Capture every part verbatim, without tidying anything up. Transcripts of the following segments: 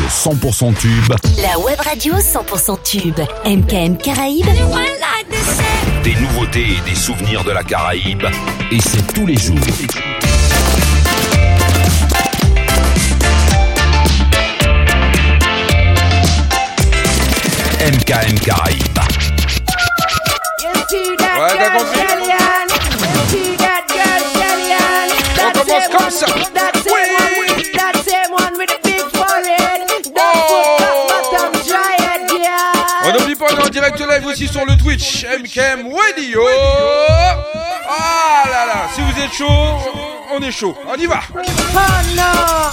cent pour cent tube. La web radio cent pour cent tube. M K M Caraïbes. Des nouveautés et des souvenirs de la Caraïbe. Et c'est tous les jours. M K M Caraïbes. Ouais, t'as compris? On commence comme ça. On n'oublie pas, on est en direct live aussi sur le Twitch M K M Radio. Ah là là, si vous êtes chaud, on est chaud. On y va. Oh no,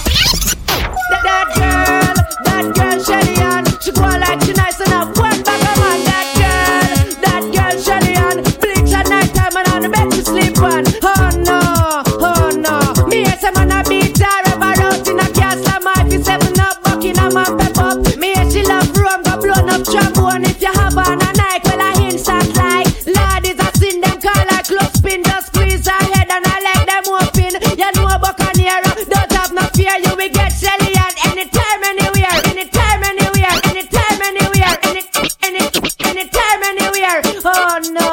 that, that girl, that girl Shelly Ann, she go like she nice enough. One back of man, that girl, that girl Shelly Ann, bleach at night time and on the bed to sleep on. Oh no, oh no, me and some man a beat her ever out in a castle. My fi seven up, Buckingham and pep up. Me and she love rum, go blown up trombone. If you have on a night, well I instant like Lord is a sin them call like close spin. Just squeeze her head and I let them open. You know Buccaneer, don't have no fear, you will get Shelly Ann anytime, anywhere, anytime, anywhere, anytime, anywhere, any, any, anytime, anywhere. Oh no,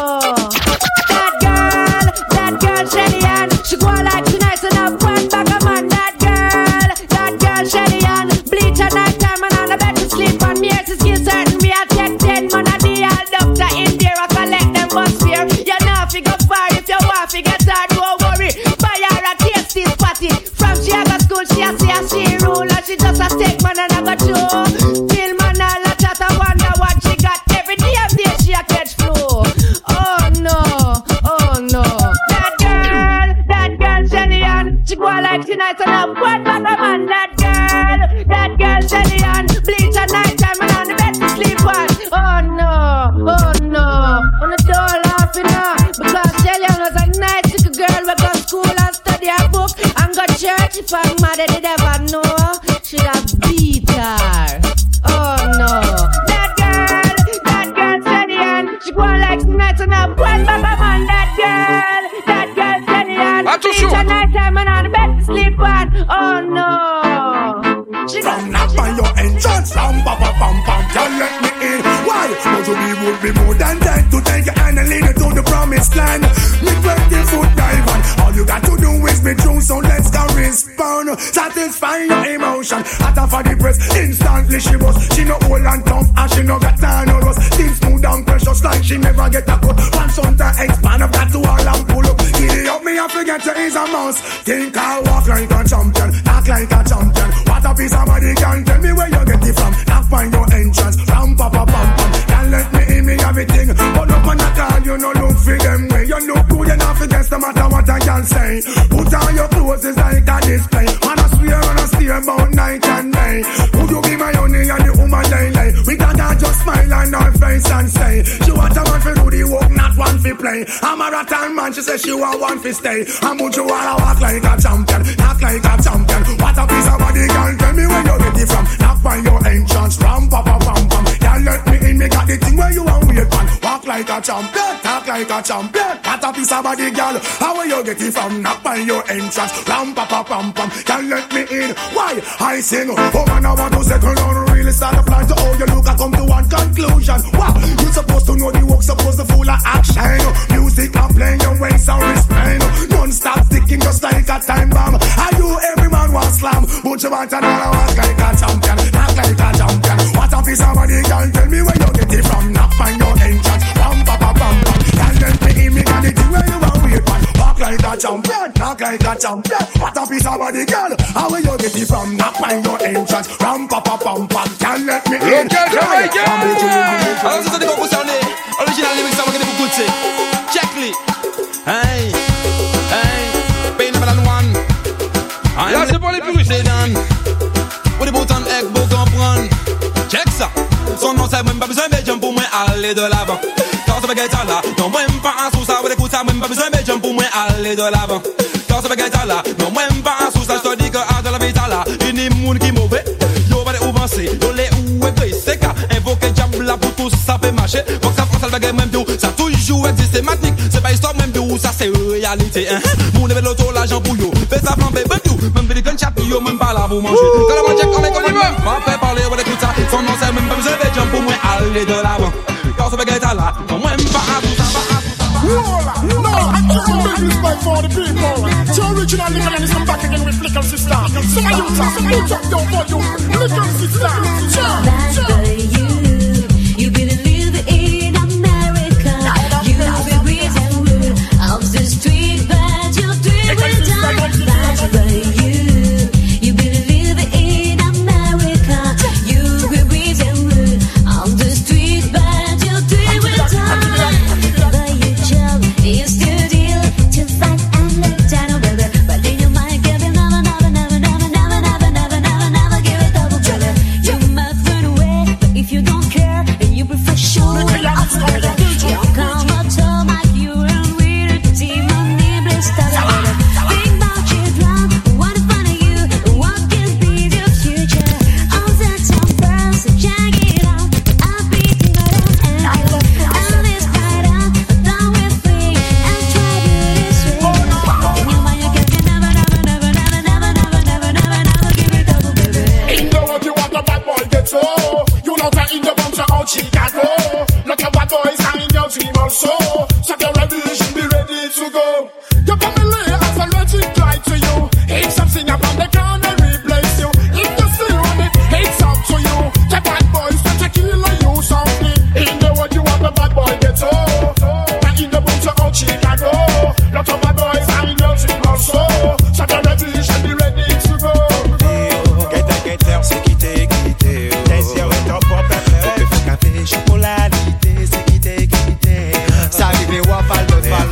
that girl, that girl Shelly Ann, she go like she nice enough. One bag of man, that girl, that girl Shelly Ann, bleach at night time and on the bed to sleep on. Me to skill certain, we are take ten man a day. All doctor in there, I collect them bus fear. You know if you go far, if you want to get hard, don't worry. Buy her a tasty spotty. From she a go school, she a see a she rule, and she just a take man and a go show. Till man all a chat, I wonder what she got. Every damn day she a catch flow. Oh no, oh no. That girl, that girl Shelly Ann, she go like she nice enough. One back of man, that girl, that girl Shelly Ann, bleach at night time and on the bed to sleep on. Oh no, oh no, on the door laughing now because Shelly Ann was a nice little girl. We go school and study her book and go church. If her mother did ever know, she'd have beat her. Oh no, that girl, that girl Shelly Ann, she go like nice enough. One back of man, that girl, that girl Shelly Ann, bleach at night time and on the bed to sleep on. Oh no, she got from knock on your entrance, ram pa pa pam pam, can't let me in. Why? But you be would be more than time to take your hand and lead you to the promised land. Me twenty foot dive on, all you got to do is be true, so let's go respond. Satisfy your emotion, hotter for the breast, instantly she was. She no old and tough and she no got time or rust. Things smooth and precious like she never get a cut. One son to expand, I've got to all and pull up. Giddy up me, I forget you is a mouse. Think I walk like a champion, talk like a champion. What a piece of body can tell me where you get it from. Knock find your entrance, ram pa pa pam pam. Can't let me in me everything. But up on the car, you know look for them way. You look good enough against no matter what I can say. Put on your clothes, it's like a display. Man, I swear and I steer about night and day. Would you be my honey and the woman they lay? We gotta just smile on her face and say she want a man for do the work, not one for play. I'm a rattan man, she says she want one for stay. And would you wanna walk like a champion, talk like a champion? What a piece of body, girl, tell me where you get it from. Knock find your entrance, ram pa pa pam pam. Can't let me in, me got the thing where you want wait man. Walk like a champion, talk like a champion. What a piece of body, girl, how will you get it from? Knock find your entrance, ram pa pa pam pam. Can't let me in, why? I sing, oh man, I want to settle down, really start a plan to how you look, I come to one conclusion. Wow, you supposed to know the work, supposed to full of action. Music and playing your ways and respect. Non-stop sticking just like a time bomb. I do every man want slam, but you want another walk like a champion, not like a champion. What a piece of body, girl, tell me where you get it from. Knock find your entrance, ram pa pa pam pam. Can't let me in, me got the thing where you want wait man. Walk like a champion, knock like a champion. What a piece of body, girl, how will you get it from? Knock find your entrance, ram pa pa pam pam. Can't let me in. Alors c'est ça des gros concernés. Original lyrics, ça va gagner beaucoup de c'est. Check les. Hey, hey, pain number one. Là c'est pour les puristes. Où des boutons egg beau comprendre. Check ça. Son nom c'est même pas besoin de jump pour moi aller de l'avant. Quand ça va gagner là, non même pas un sous ça, vous écoutez ça même pas besoin de jump pour moi aller de l'avant. Quand ça va gagner là, non même pas un sous ça, je te dis que à de la vie là, il y a des monde qui mauvais. Yo va les où penser, yo les où est vrai, c'est qu'à invoquer diable là pour tout ça fait marcher. Pour que ça fasse le bagage même tout, ça toujours existe systématique. C'est pas histoire même tout, ça c'est réalité. Mon level l'auto l'argent pour yo, fais ça flamber, même tout, même des guns chat yo même pas là pour manger. Quand la check on est comme M'a fait parler, ouais, écoute ça. Son nom, c'est même pas besoin de jump pour moi aller de l'avant. Quand ça va être là, non, moi, pas à tout ça, pas à tout ça. No, I can't make respect for the people. So original nigga and come back again with Lickle Sister. Some of you talk, some of you don't want you. Lickle Sister. Bad for you. You believe in America. You will breathe and rule of the street, but you'll do it down. Bad for you. You believe in America. You will breathe and rule of the street, but you'll do it down. But your job is to deal, to fight and let down, baby. But in your mind, give it never, never, never, never, never, never, never, never, never give it double, baby. You might run away, but if you don't care, and you prefer showing off, baby. You come up to my you and weird, see my name blessed out, baby. Think about you drown, wanna find you, what can be the future? All the time first, so check it out. I'll be thinking about it, and this night out, down with free, and try to this way. In your mind, you can never, never, never, never, never, never, never, never, never give it double, baby. In the world you want the bad boy get so. You know that in the bunch of Chicago. Look at bad boys are in your team also. So get ready, you should be ready to go. Your family has a logic right to you. If something about the corner replace you. If you still want it, it's up to you. The bad boys will take kill you softly. In the world you want the bad boy get so. But in the bunch of Chicago. Look at bad boys are in your team also. So get ready, you should be ready to go. C'est quitter, quitter. Tes yeux et ton propre affaire. On peut faire café, chocolatité. C'est quitter, quitter. Ça arrive, wafal de fall.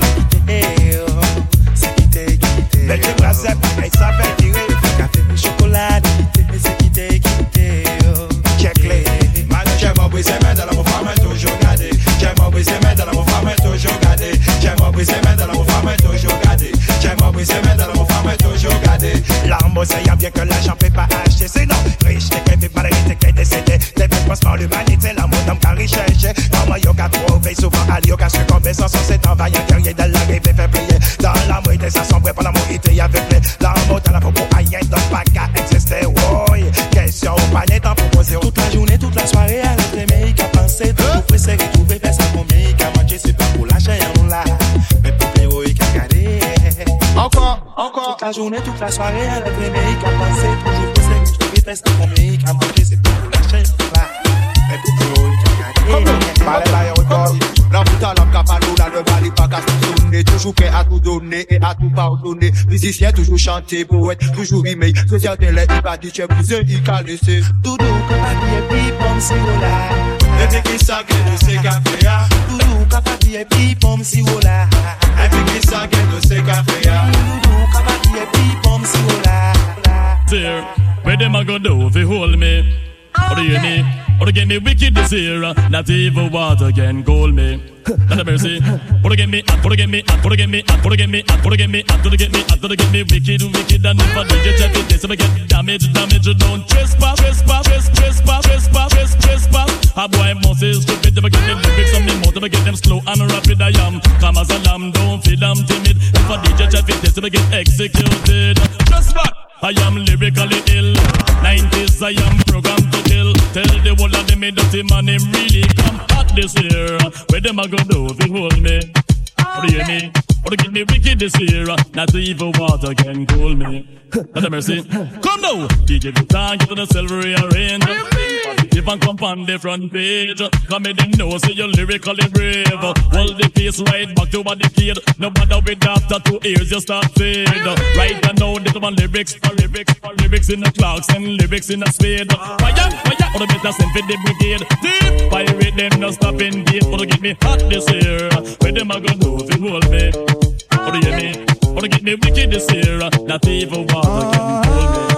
C'est quitter, quitter. Mais tu bras, c'est pareil, ça fait tirer. Café, chocolatité. C'est quitter, quitter. Check les. J'aime briser mes dans la mon femme est toujours gardée. J'aime briser mes dans la mon femme est toujours gardée. J'aime briser mes dans la mon femme est toujours gardée. J'aime briser mes dans la mon femme est toujours gardée. L'arme, c'est y a bien que l'argent peut pas acheter. C'est non, riche, t'es qu'elle vit pas t'es qu'elle décédée. T'es fait passe par l'humanité, l'amour d'homme qu'à rechercher. Dans moi, y'a qu'à trouver, souvent à l'y'a qu'à succomber. Sans son, c'est envahir, guerrier de la rive, fait plier. Dans l'amour, il est assemblé pour l'amour, il y avait plein. L'amour, t'as la peau pour aïe, donc pas qu'à exister. Oui, question au panier, t'en proposer. Toute la journée, toute la soirée, à l'aimer, qu'à penser, toujours préféré, trouver, faire ça pour mieux, qu'à manger, c'est pas pour lâcher un là. Mais pour l'héroïque, qu'à garder. Encore, encore. Toute la journée, toute la soirée, à l'aimer, qu'à penser, toujours préféré, trouver, faire ça pour mieux, qu'à manger, c'est pas pour lâcher un là. Mais pour l'héroïque, qu'à garder. Parlez là, y'a encore. La putain, l'homme capano, là, ne valait pas qu'à se tourner. Toujours prêt à tout donner et à tout pardonner. Musicien, toujours chanter, poète, toujours rimer. Société, là, il va dire, tu es brisé, il qu'a laissé. Doudou, capati, et puis, pomme, si voilà. Et puis, qui s'agit de ces cafés, Doudou, capati, et puis, pomme, si voilà. Et puis, qui s'agit de ces cafés, Doudou, capati, et puis, pomme, si voilà. There, where them a go do if you hold me? Or do you hear me? Or to get me wicked this year, not evil water can cool me. Not a mercy. Or to get me, or to get me, or to get me, or to get me, or to get me, or to get me, or to get me wicked, wicked, and if I did you check it, this if I get damage, damage, don't trespass, trespass, trespass, trespass, trespass, trespass. A boy must is stupid if I get them lyrics on me mouth, if I get them slow and rapid I am. Come as a lamb, don't feel I'm timid. If I did you check it, this if I get executed. Just back. I am lyrically ill. nineties I am programmed to kill. Tell the whole of them me dirty man him really come hot this year. Where them a go do if you hold me? Or do you hear me? Or to get me wicked this year. Not evil water can cool me. Not a mercy. Come now. D J Guitar get to the silver rearrange. Positive and come on the front page. Come in them know say you're lyrically brave. Hold the pace right back to what the kid. No matter with after two ears you start fade. Right now this one lyrics, or lyrics, or lyrics in the clocks and lyrics in the spade. Fire, fire, or the better send for the brigade. Deep pirate them no stopping beat. Or to get me hot this year. Where them a go do if you hold me? Or do you hear me? Or to get me wicked this year. Not evil water can hold me.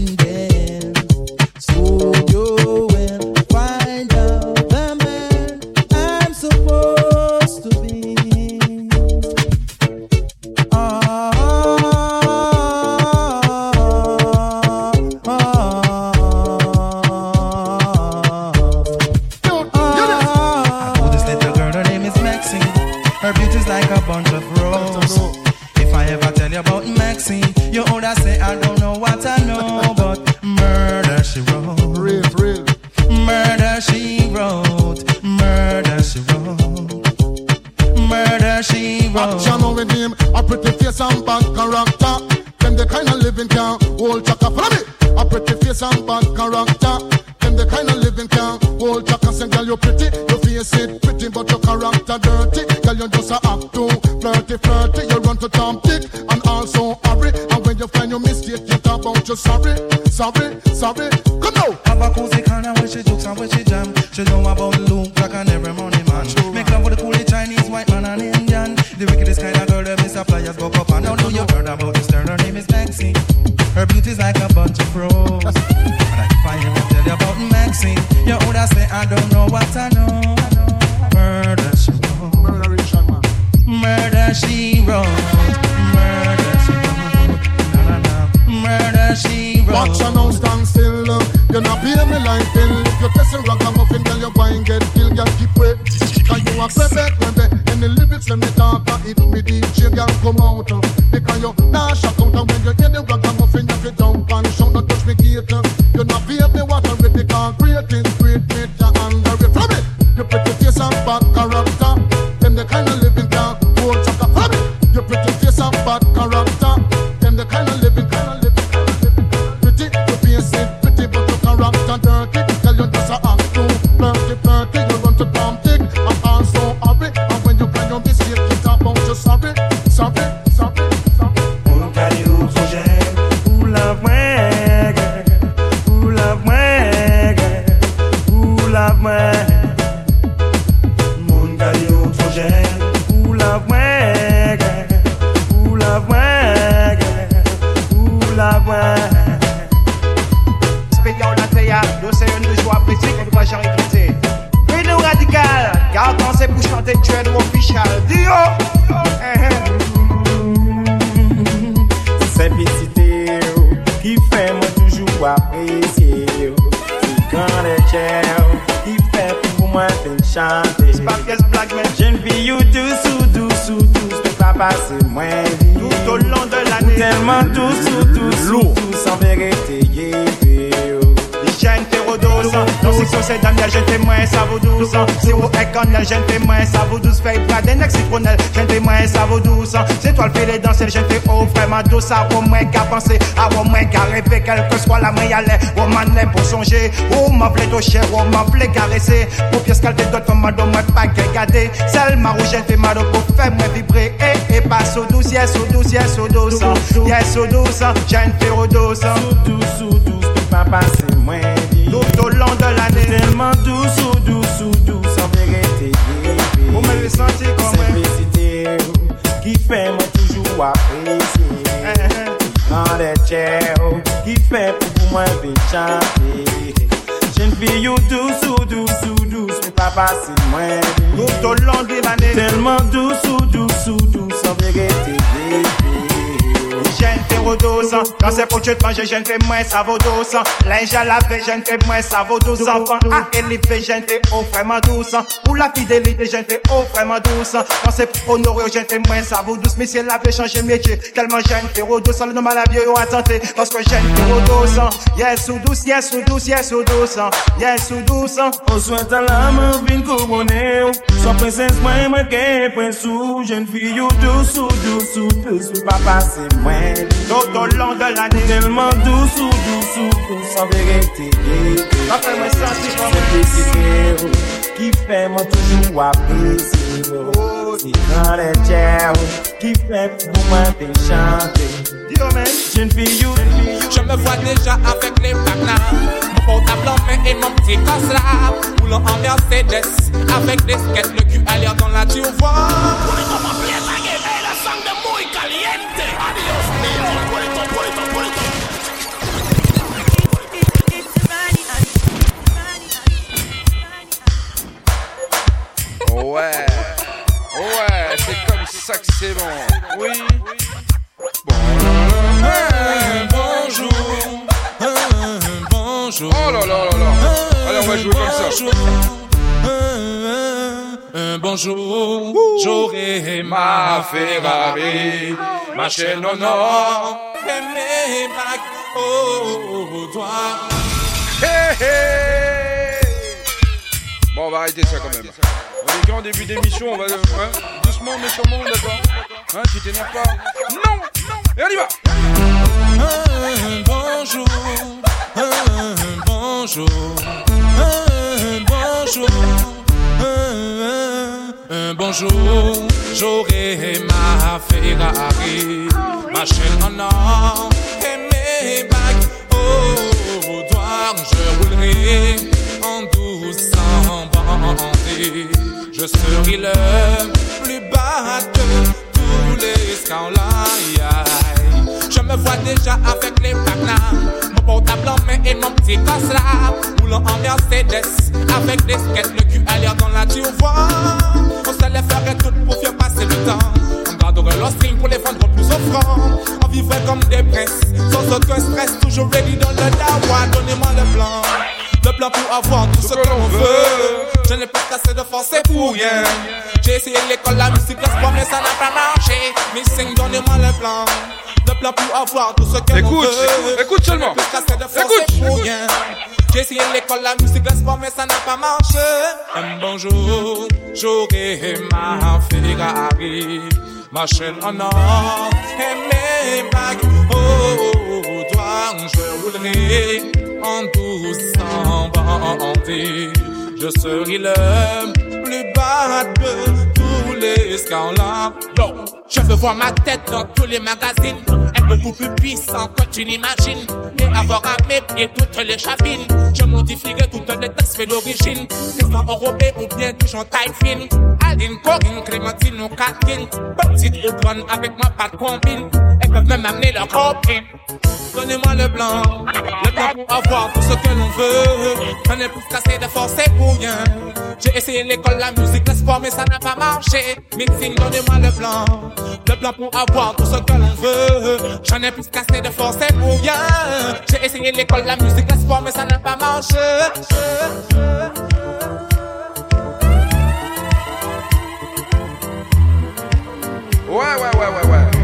So you will find out the man face and bad character. Them the kind of living can hold your and girl you pretty. Your face it pretty but your character dirty. Girl you just a act too flirty flirty. You run to Tom Dick and also hurry. And when you find your mistake you talk about you sorry, sorry, sorry. Come now. Have a cozy kind of where she jokes and where she jam. She know about Luke like an every money man. Make love with the coolie Chinese, white man and Indian. The wickedest kind of girl that Mister Flyers go up and now know you heard about this girl. Her name is Maxine. Her beauty's like a bunch of pros. And I find you and tell you about Maxine. You would I say I don't know what I know. Murder she wrote. Murder she wrote. Murder she wrote. No, no, no. Murder she wrote. Watch her now stand still. You not pay me like bill. If you test a ragamuffin, girl, you go and get killed. Girl, keep wait. Cause you a credit when they in the lyrics when they talk. It me D J, girl, come out. Because you nah shock out. And when you hear the ragamuffin, you fi jump and shout. Don't touch me gate. You not pay me what I read. Because great is great, make you under it. From it, you pretty face and bad character. Them the kind of living can hold chaka. From it, you pretty face and bad character. Them the kind of living, kind of living, kind of living. Pretty, you face it pretty, but your character dirty. Tell you just a act too flirty, flirty. You run to Tom Dick and also hurry. And when you find your mistake, you talk about you sorry, sorry, sorry, sorry. Mon caillou trop gêne. Who love moi, girl? Who love moi, girl? Who love moi? Mon caillou trop gêne. Who love moi, girl? Who love moi, girl? Who love moi? Spécial la Théa, yo c'est une de joie appréciée qu'on doit jamais quitter. Freedom radical, car quand c'est pour chanter tu es nous official. Dio! Simplicité qui fait moi toujours apprécier. C'est quand les chairs qui fait pour moi faire chanter. Jeune fille ou douce ou douce ou douce, peux pas passer moins vite. Tout au long de l'année, tellement douce ou douce ou douce en vérité. Jeune féro douce, non si c'est Daniel, jeune fais moins ça vaut douce. Si vous êtes connell, jeune fais moins ça vaut douce. Fait pas d'un ex-citronnel, jeune fais moins ça vaut douce. C'est toi le fait les danser, jeune fais oh vraiment douce. À au moins qu'à penser, à au moins qu'à rêver, quelle que soit la main à l'air. Oh man l'aime pour songer, oh m'a plaît au cher, oh m'a plaît caresser. Pour pièce qu'elle te donne, comme m'a donné, moi pas qu'elle garder. Celle ma rouge, jeune fais mal pour faire moi vibrer. Et, et pas so douce, yes, so douce, yes, so douce. Yes, so douce, jeune féro douce. So douce, so douce, peux pas passer moins vite. Tout au long de l'année, tellement douce ou douce ou douce en vérité. Vous m'avez senti comme simplicité qui fait moi toujours apprécier. Dans les chairs qui fait pour moi faire chanter. Jeune fille ou douce ou douce ou douce, mais pas passer moins vite. Tout au long de l'année, tellement douce ou douce ou douce en vérité. Jeune féro douce, quand c'est pour tu te manger, jeune fais moins ça vaut douce. Linge à laver, jeune fais moins ça vaut douce. Enfant à élever, jeune fais oh vraiment douce. Pour la fidélité, jeune fais oh vraiment douce. Quand c'est pour honorer, jeune fais moins ça vaut douce. Mais si elle avait changé métier, tellement jeune féro douce, le nom à la vieille ou à tenter. Parce que jeune féro douce, yes ou douce, yes ou douce, yes ou douce, yes ou douce. On souhaite à l'âme, vine couronner. Sois princesse, moi, moi, qu'un prince ou jeune fille ou douce ou douce ou douce, ou pas passer moins. Tout au long de l'année, tellement douce ou douce ou douce en vérité. Ça fait moi sentir comme simplicité qui fait moi toujours apprécier. C'est dans les chairs qui fait pour moi faire chanter. Jeune fille ou je me vois déjà avec les plaques là. Mon portable en main et mon petit gosse là. Roulant en Mercedes avec des skates, le cul à l'air dans la turbo. Ouais, ouais, c'est comme ça que c'est bon. Oui. Bon. Un bonjour, un bonjour. Oh là là là là. Allez, on va jouer comme ça. Un bonjour, j'aurai ma Ferrari, ma chaîne en or, et mes bagues au doigt. Hey, hey. Bon, on va arrêter ça quand même. On est qu'en début d'émission, on va hein, doucement mais sûrement, d'accord. Hein, tu t'énerves pas. Non, non. Et on y va. Un bonjour, un bonjour, un bonjour, un, un bonjour. J'aurai ma Ferrari, ma chaîne en or et mes bagues au doigt. Je roulerai en doucement bandé. Je serai le plus bas de tous les scandales. Je me vois déjà avec les placards, mon portable en main et mon petit gosse là, roulant en Mercedes avec des skates, le cul à l'air dans la vois. On se les ferait toutes pour faire passer le temps. On garderait leurs strings pour les vendre plus offrant. On vivrait comme des princes, sans aucun stress, toujours ready dans le dawa. Donnez-moi le plan, le plan pour avoir tout ce que l'on veut. Je n'ai pas cassé de forcer pour rien. J'ai essayé l'école, la musique, le sport, mais ça n'a pas marché. Missing, donnez-moi le plan. Le plan pour avoir tout ce que écoute, l'on veut. Écoute, écoute seulement. Écoute, pour rien. J'ai essayé l'école, la musique, le sport, mais ça n'a pas marché. Un bonjour, j'aurai ma Ferrari, ma chaîne en or et mes bagues au doigt. Je roulerai en doucement bandé. Je serai le plus bas de tous les scandales. Je veux voir ma tête dans tous les magazines, être beaucoup plus puissant que tu n'imagines, et avoir à mes pieds toutes les chavines. Je modifierai toutes les textes faits d'origine, des femmes enrobées ou bien des gens taille fine. Aline, Corinne, Clémentine ou Catherine, petite ou grande avec ma patte combine. Elles peuvent même amener leur copine. Donnez-moi le blanc, le blanc pour avoir tout ce que l'on veut. J'en ai plus cassé de forcer pour rien. J'ai essayé l'école, la musique, le sport, mais ça n'a pas marché. Mixing, donnez-moi le blanc, le blanc pour avoir tout ce que l'on veut. J'en ai plus cassé de forcer pour rien. J'ai essayé l'école, la musique, le sport, mais ça n'a pas marché. Ouais, ouais, ouais, ouais, ouais.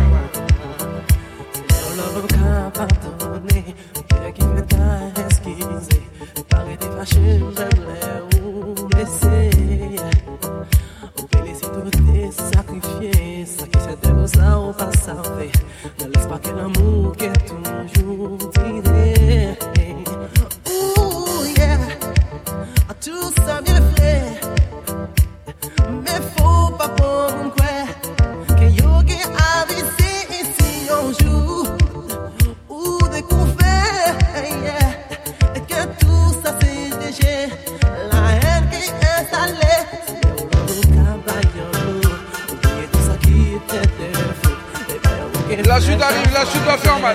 Abandonné, bien qu'il me t'a esquissé, parler des machines, j'aimerais ou laisser. Ou laisser tout tes sacrifiés, ça qui s'était beau ça ou pas sauvé. Ne laisse pas qu'un amour qui est toujours tiré. Ouh, yeah, tout ça bien fait, mais faut pas prendre quoi, que yogi a visé ici un jour. Découvert, yeah, et que tout ça c'est déjà la haine qui est installée. C'est au cabayon, oubliez tout ça qui était défaut. La suite arrive, la suite va faire mal.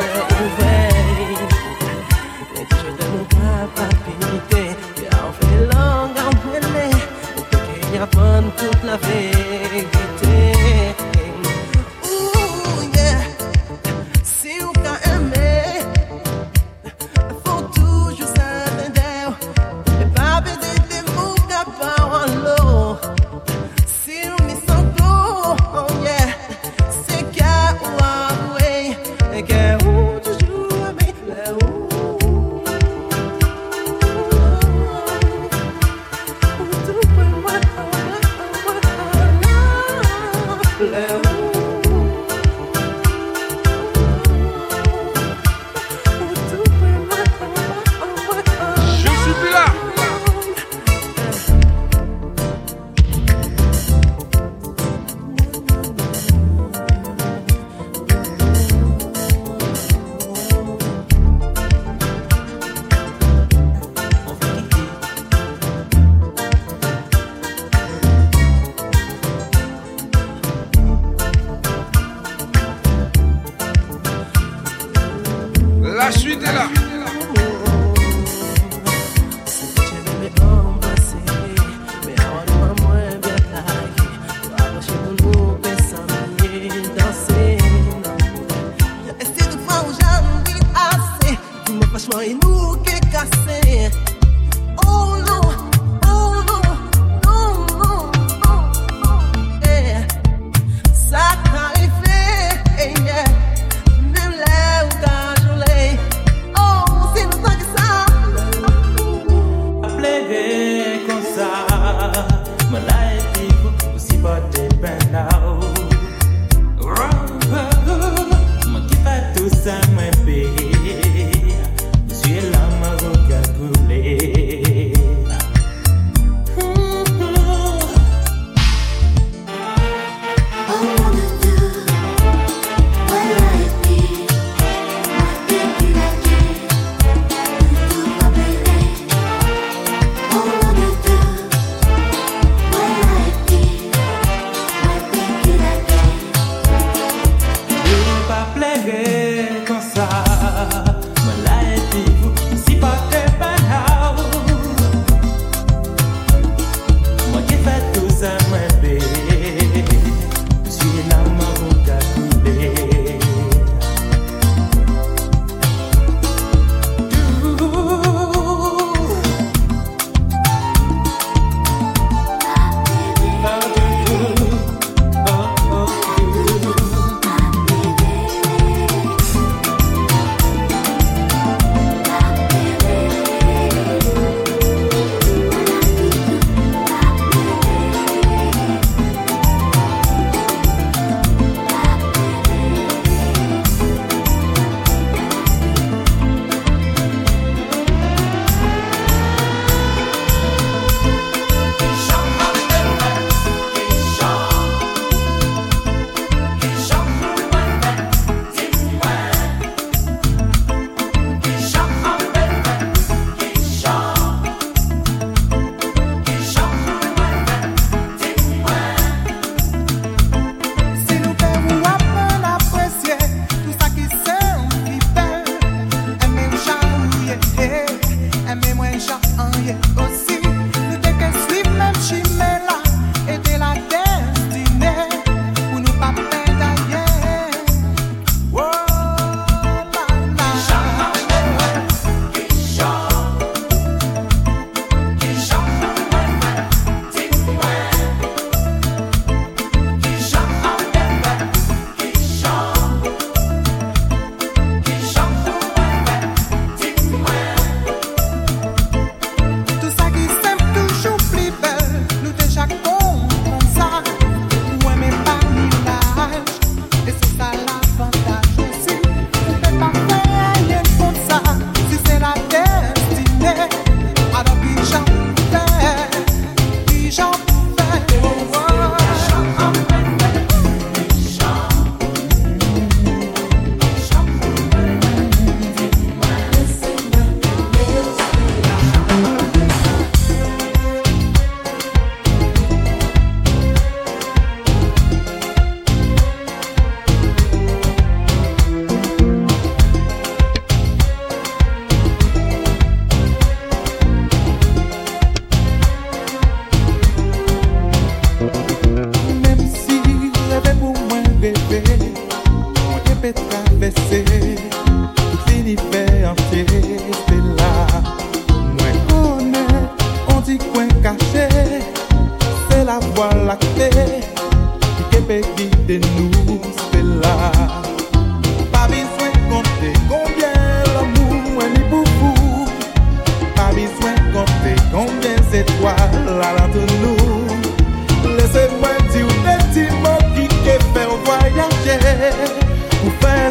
Et je t'aime mon papa pinité, et on fait langue en mêlée, pour qu'il y a pas toute la vérité. Ouh, yeah, si on a aimé. La suite est là. Et nous qui cassé. Oh non, oh non, non, non, non, non. Eh, ça t'arrive, yeah. Même là où t'as gelé. Oh, c'est nous ça que ça. Plaider comme ça. My life is aussi pas dépend now. Mon qui fait tout ça, my baby. La maroca coulée.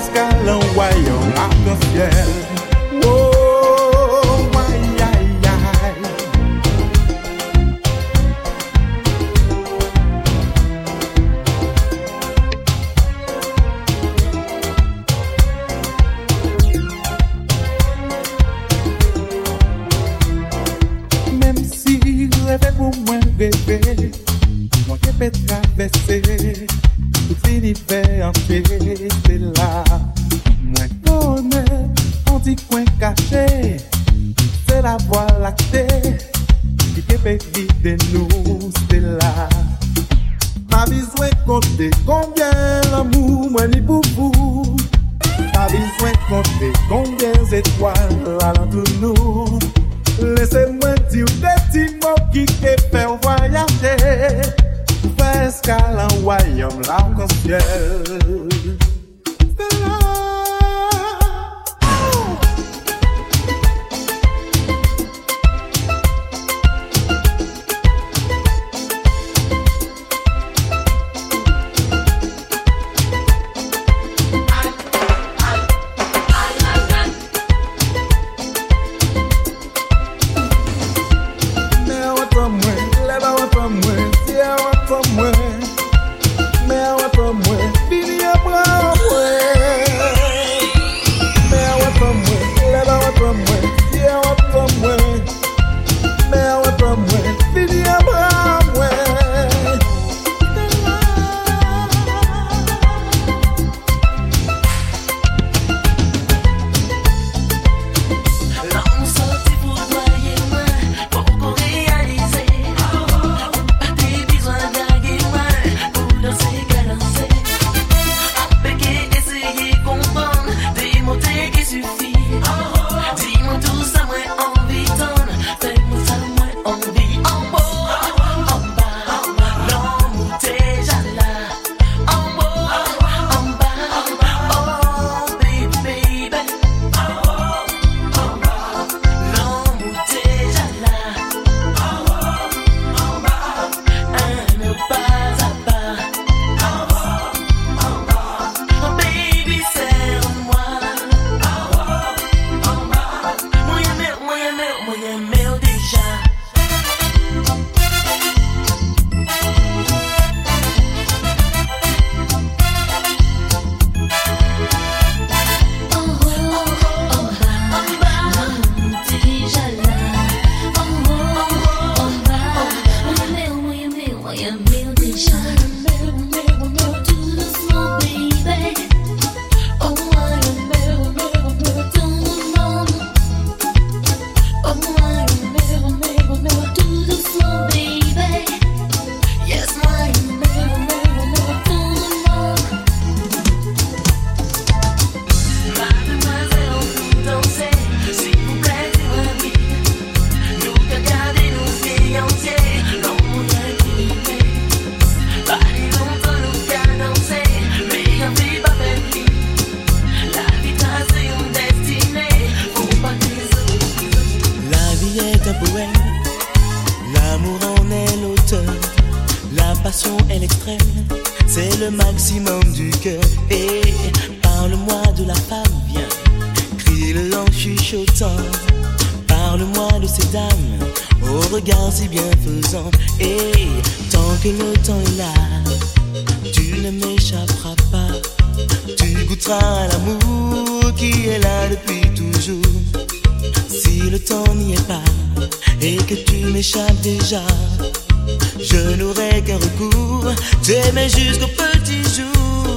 escale un royaume arc-en-ciel. Oh, aïe, aïe, aïe. Même si rêve pour moi rêver, moi qui peux traverser tout l'univers entier, c'est là. Moi connais, on dit coin caché, c'est la voie lactée qui peut guider nous, c'est là. Pas besoin de compter combien l'amour moi ni pour vous. Pas besoin de compter combien d'étoiles alentour nous. Laissez-moi dire des petits mots qui te font voyager. Faire escale en royaume l'arc-en-ciel. C'est là. Je n'aurai qu'un recours, t'aimer jusqu'au petit jour.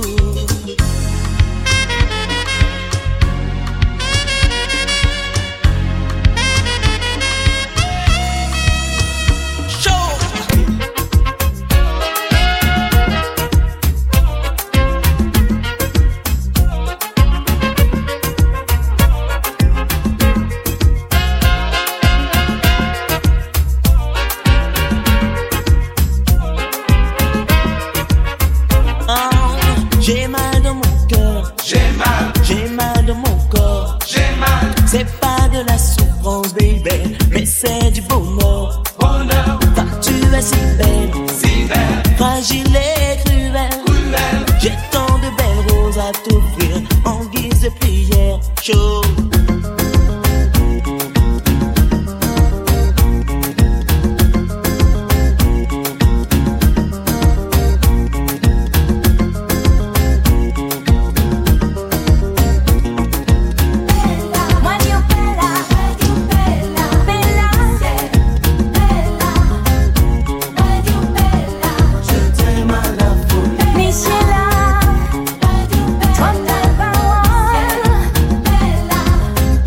C'est pas de la souffrance, baby, mais c'est du bonheur. Bonheur. Car tu es si belle, si belle, fragile et cruelle. Cruelle. J'ai tant de belles roses à t'offrir. En depuis hier. Chaud. Michela,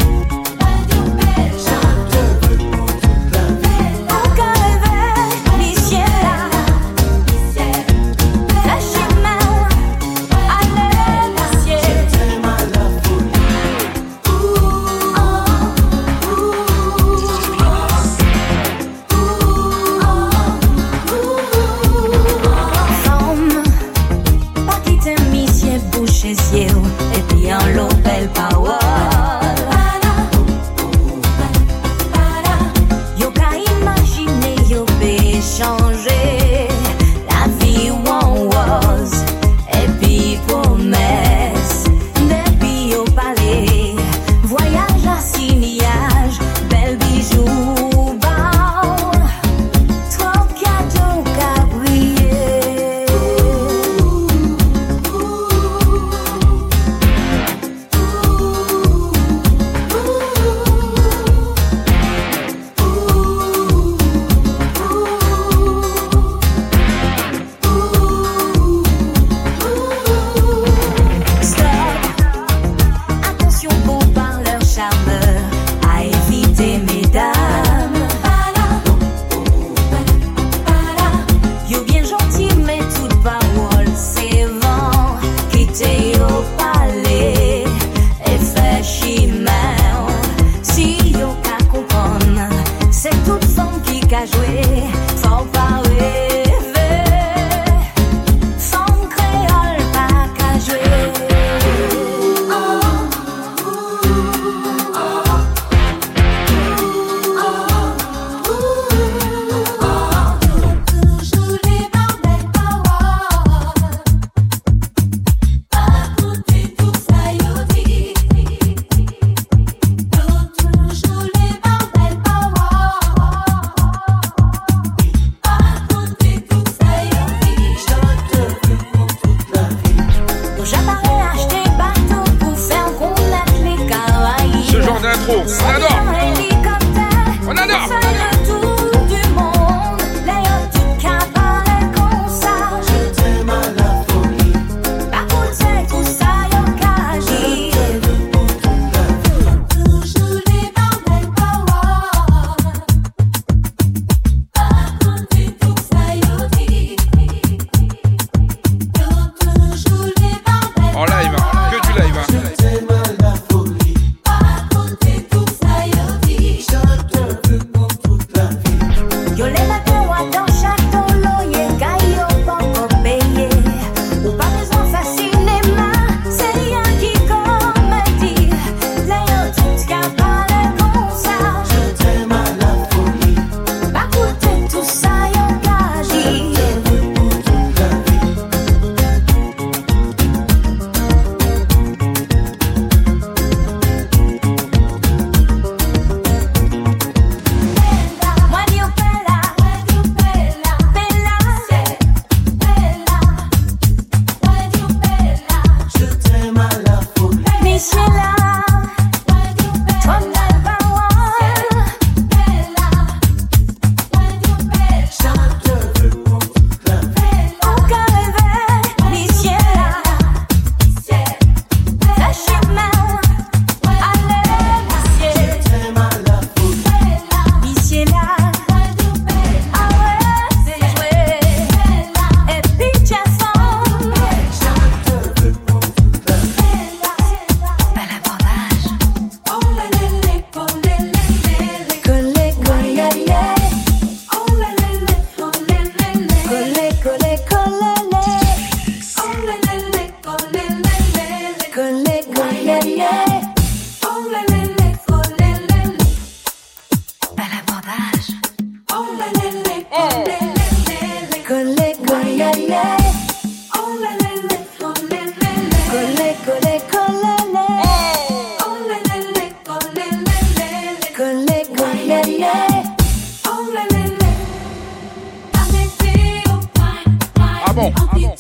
Ah bon, ah bon.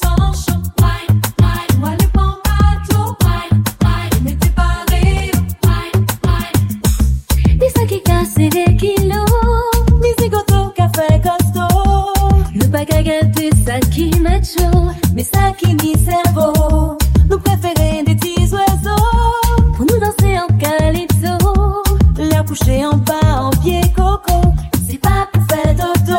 Ça qui met chaud, mais ça qui nie cerveau. Nous préférons des petits oiseaux pour nous danser en calypso. L'air couché en bas en pied coco, c'est pas pour faire dodo.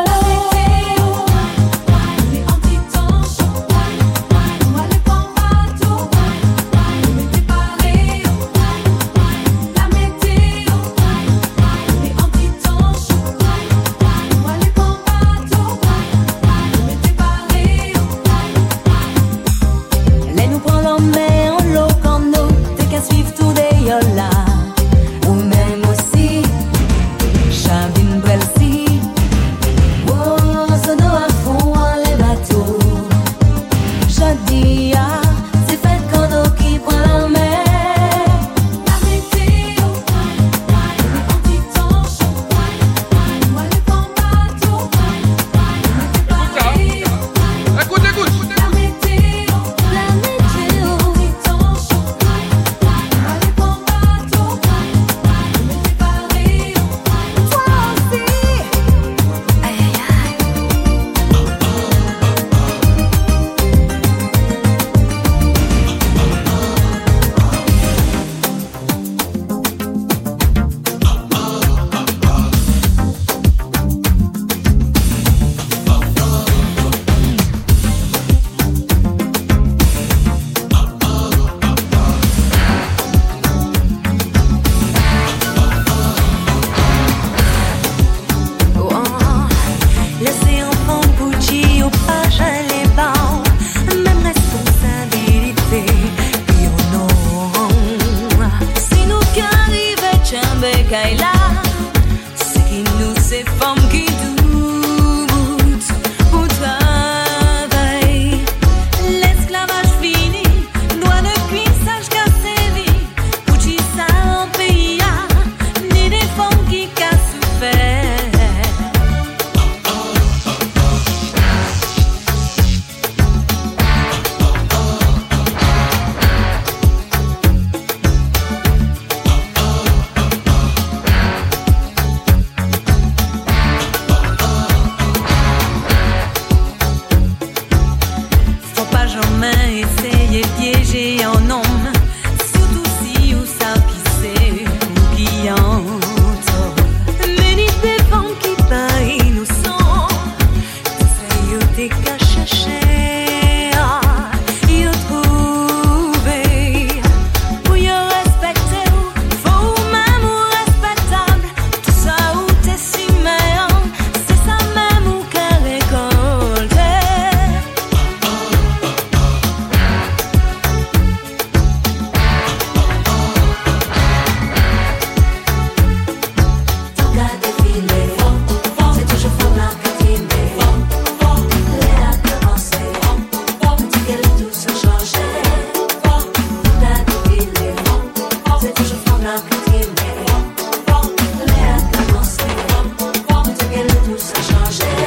Ou même aussi Chabine Brelsi. Oh, sono à fond les bateaux. Chadia, c'est fait quand on qui prend la mer. La météo, on dit tant chaud. Moi le bon bateau. Écoute, écoute. La météo, la météo, on dit tant chaud. Laissez enfant Gucci au page les bancs, même responsabilité, puis au nom. Si nous qui arrivons, Tchambé Kaila, ce qui nous c'est femmes qui doutent pour travail. L'esclavage fini, doit de cuissage cassé vie, pour qui ça en pays, ni des femmes qui cassent souffert. Faut pas jamais essayer de piéger un homme, surtout si ou ça qui c'est ou qui entre. Mais ni des femmes qui pas innocents, c'est eux des cas cherchés, y trouver. Pour y respecter, faut même ou respectable. Tout ça ou t'es si méant, c'est ça même ou qu'à récolter. C'est toujours fort la cantine. L'air a commencé. Dit qu'elle tout se changeait. T'as défilé. C'est toujours fort la cantine. L'air a commencé. Dit qu'elle tout se changeait.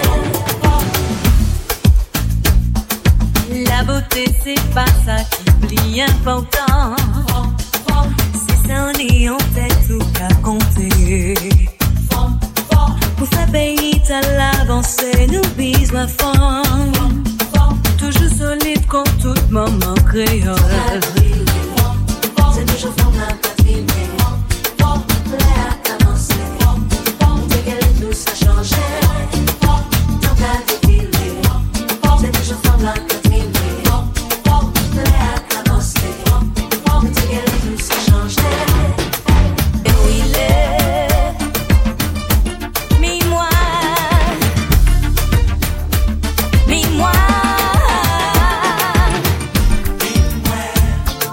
La beauté c'est pas ça qui plie important. C'est ça on est en tête tout qu'à compter. Pour faire payer à l'avancée, nous bisons à fond. Toujours solide contre tout moment créole. C'est toujours fort la patine. L'air a commencé. Dès qu'elle tout ça changeait. Tant qu'à défiler. C'est toujours fort la patine. L'air a commencé. Dès qu'elle tout ça changeait. Et où il est? Mis-moi, mis-moi,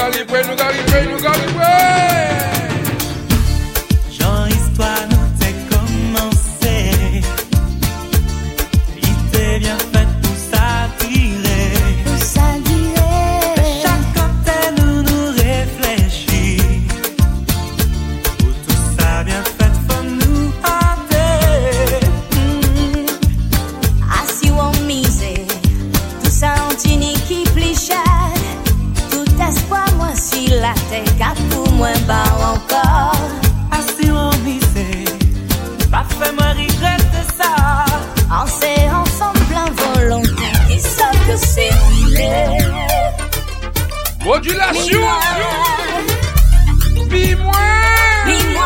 gars livrés, nous gars livrés, nous gars livrés. Jean, histoire nous t'est commencé. Il t'est bien fait pour s'attirer. Pour s'attirer. Chaque côté nous nous réfléchit. Pour tout ça bien fait, faut nous hâter. Assis ou en misé, tout ça en tini qui plichade. Tout espoir, moi, si la tête cap pour moi, bas encore. Assis ou en misé, pas fait moi regretter ça. On s'est ensemble plein volonté, qui savent que c'est vrai. Modulation. Bis-moi. Bis-moi.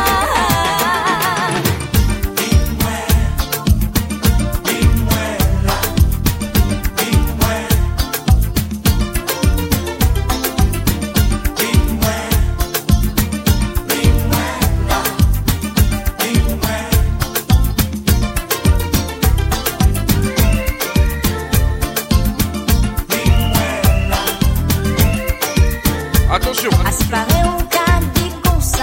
Attention. Asparaît au cas dit comme ça.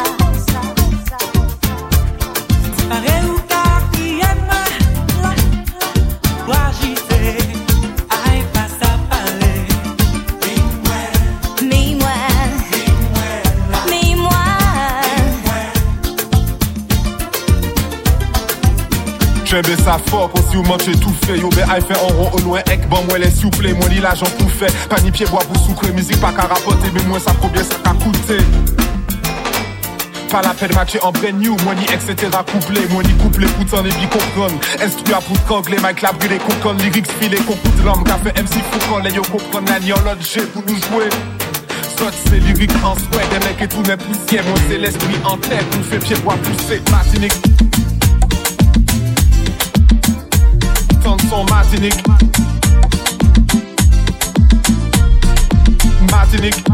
Asparaît au cas qui aime pour agiter. Aïe, pas ça parler. Mais-moi. Mais-moi. J'aime ça fort, quand si vous mangez tout fait. Yo, ben, aïe fait en rond au loin, ek, bon, moi, les soufflés, moi, li l'argent pour faire. Pas ni pied bois pour sucrer, musique pas qu'à rapporter, mais moi, ça combien ça qu'a coûté. Pas la peine de matcher en brand new, moi, ni et cetera couplé, moi, ni couplé, pour t'en et puis comprendre. Instruit à pour t'angler, Mike la brûlé, concon, lyrics filé, concours de l'homme, qu'a fait M C Foucault, les yo comprendre la ni en l'autre G pour nous jouer. Soit c'est lyrique en sweat, des mecs et tout n'est poussière, moi, c'est l'esprit en tête, nous fait pied bois pousser, Martinique. Son Martinique, Martinique,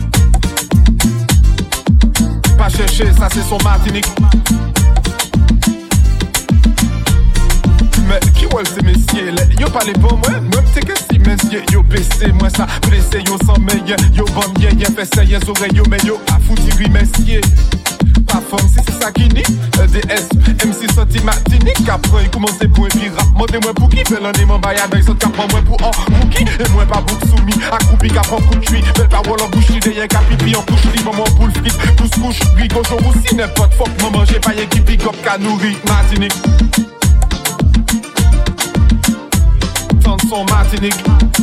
pas chercher, ça c'est son Martinique. Mais qui ouais c'est messieurs, yo pas les bons, moi, moi t'es que si messieurs, yo baissé, moi ça blessé, yo sans meilleur, yo bon bien, y'a fait ça, y'a oreilles, yo mais yo a foutu messieurs. Pas forme, si c'est ça qui nie, E D S, M C sorti Martinique, après il commence pour un puis rap, montez-moi pour qui, fait l'un des membres, y'a des autres qui prend moi pour un rookie, et moi pas beaucoup soumis, accroupi, qui prend coup de cuit, belle parole en bouche, l'idée, y'a qu'à pipi, en couche, libre, maman, boule, frite, pousse, couche, rigo, jour aussi, n'importe, fuck, maman, j'ai pas y'a qui pick up, qu'à nourrir, Martinique. Son Martinique,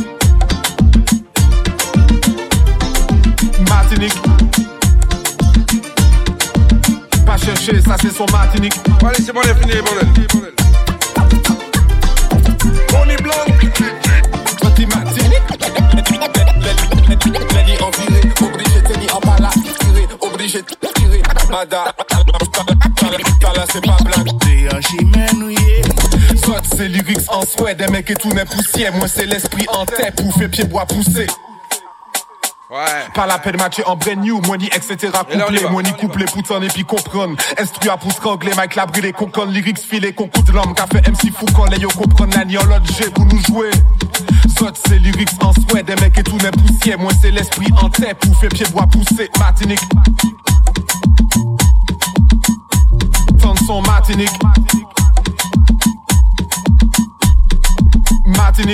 Martinique, pas chercher, ça c'est son Martinique. Allez, c'est bon, les finis, bordel. On est blanc. Petit Martinique, l'année en virée, obligé de tenir en bas là, tiré, obligé de tirer, Mada, là c'est pas blanc. T'es un chimène, soit c'est lyrics en sweat, des mecs et tout n'est poussière, moi c'est l'esprit en tête pour faire pied bois pousser. Ouais. Pas la peine de matcher en brand new, moi ni et cetera couplé, moi ni couplé pour t'en et puis comprendre. Instruit à pour strangler, Mike la brûlé, concon, lyrics filé, concours de l'homme, qu'a fait M C Foucault, les yo comprendre la ni en l'autre G pour nous jouer. Soit c'est lyrics en sweat, des mecs et tout n'est poussière, moi c'est l'esprit en tête pour faire pied bois pousser. Martinique. Son Martinique, Martinique,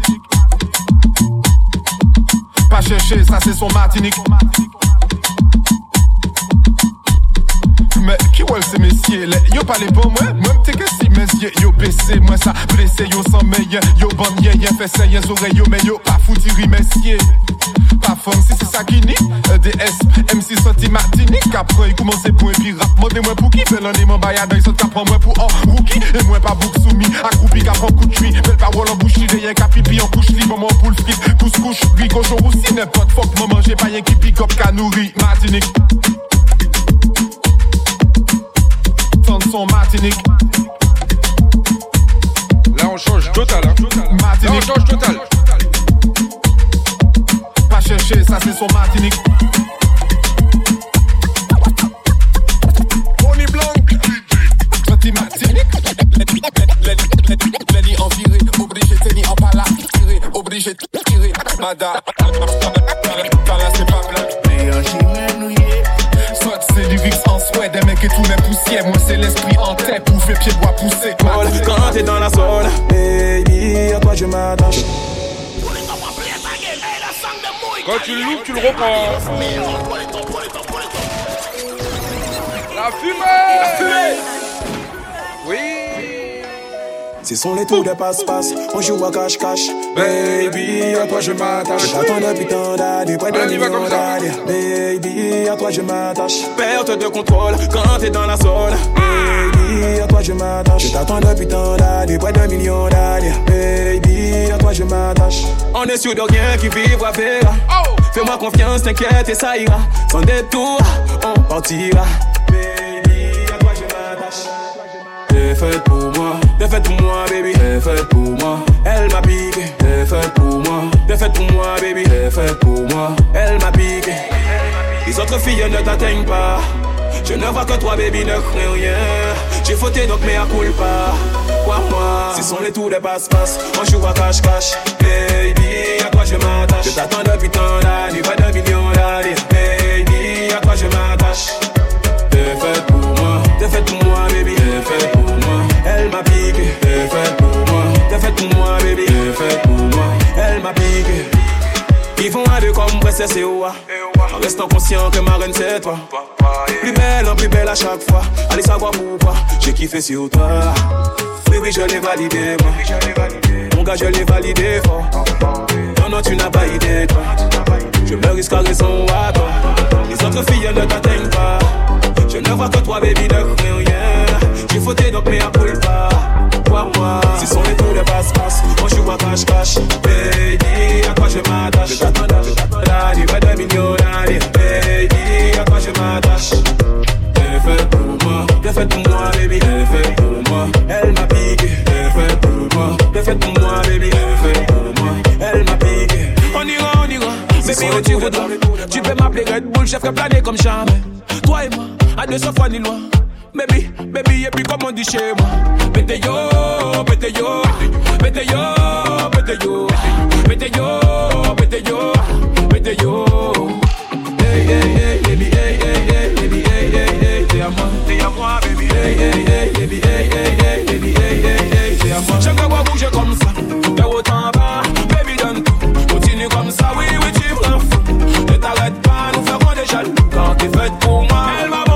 pas chercher, ça c'est son Martinique. Mais qui ouais c'est messieurs, yo pas les bons, moi, moi t'es que si messieurs, yo baissé, moi ça blessé, yo sans meilleur, yo bon y'a y'a fait ça, y'a oreilles, yo mais yo pas foutu messieurs. Pas forme, si c'est ça qui nie, E D S, M C sorti Martinique, après il commence pour un puis rap, montez-moi pour qui, fait l'un des membres, y'a des autres qui prend moi pour un rookie, et moi pas beaucoup soumis, accroupi, qui prend coup de cuit, belle parole en bouche, l'idée, y'a qu'à pipi en couche, libre, maman, poule, frite, pousse, couche, rigo, jour aussi, n'importe, fuck, maman, j'ai pas y'a qui pick up, qu'à nourrir, Martinique. Son Martinique. Là on change total, hein. Là on change total. Pas chercher, ça c'est son Martinique. On est blanc. Petit Martinique. L'année en virée, obligé de tenir en bas là, tiré, obligé de tirer. Mada, là c'est pas blanc. moi c'est l'esprit en tête, pouffer, pied bois pousser. Quand t'es dans la zone, baby, à toi je m'attache. Quand tu le loupes, tu le reprends. La fumée. La fumée. Oui. Ce sont les tours de passe-passe, on joue à cache-cache. Baby, à toi je m'attache. Je t'attends depuis tant d'années, près d'un million d'années. Baby, à toi je m'attache. Perte de contrôle quand t'es dans la zone. Baby, à toi je m'attache. Je t'attends depuis tant d'années, près d'un million d'années. Baby, à toi je m'attache. On est sûr de rien qui vivra verra. Fais-moi confiance, t'inquiète et ça ira. Sans détour, on partira. T'es faite pour moi, t'es faite pour moi, baby. T'es faite pour moi, elle m'a piqué. T'es faite pour moi, t'es faite pour moi, baby. T'es faite pour moi, elle m'a piqué. Les autres filles ne t'atteignent pas. Je ne vois que toi, baby, ne crains rien. J'ai fauté donc mais à culpa. Quoi moi, ce sont les tours de passe-passe. On joue à cache-cache. Baby, à toi je m'attache. Je t'attends depuis tant d'années, pas d'un million d'années. Baby, à toi je m'attache. T'es faite pour moi, t'es faite pour moi, baby. T'es faite pour moi, elle m'a piqué. T'es faite pour moi, t'es faite pour moi, baby. T'es faite pour moi, elle m'a piqué. Ils font un deux comme princesse et oua. En restant conscient que ma reine c'est toi. Plus belle, en plus belle à chaque fois. Allez savoir pourquoi j'ai kiffé sur toi. Oui, oui, je l'ai validé, moi. Mon gars, je l'ai validé fort. Non, non, tu n'as pas idée, toi. Je me risque à raison à toi. Les autres filles ne t'atteignent pas. Je ne vois que toi, baby, ne crains rien. J'ai fauté donc mais à culpa. Quoi moi, ce sont les tours de passe-passe. On joue à cache-cache. Baby, à quoi je m'attache. Je t'attends d'années, pas de millions d'années. Baby, à quoi je m'attache. T'es faite pour moi, t'es faite pour moi, baby. T'es faite pour moi, elle m'a piqué. T'es faite pour moi, t'es faite pour moi, baby. T'es faite pour moi, elle m'a piqué. On ira, on ira, baby, où tu voudras. Tu peux m'appeler Red Bull, chef que planer comme jamais. Toi et moi, à deux cents fois ni loin. Baby, baby, et puis comme on dit chez moi. Bete yo, bete yo, bete yo, bete yo, bete yo, bete yo, bete yo. Hey, hey, hey, baby, hey, hey, hey, baby, hey, hey, hey, t'es à moi, t'es à moi, baby, hey, hey, hey, baby, hey, hey, hey, baby, hey, hey, hey, t'es à moi. J'aime qu'on va bouger comme ça, de haut en bas, baby donne tout. Continue comme ça, oui, oui, tu prends fou. Ne t'arrête pas, nous ferons des jaloux. Quand t'es faite pour moi, elle va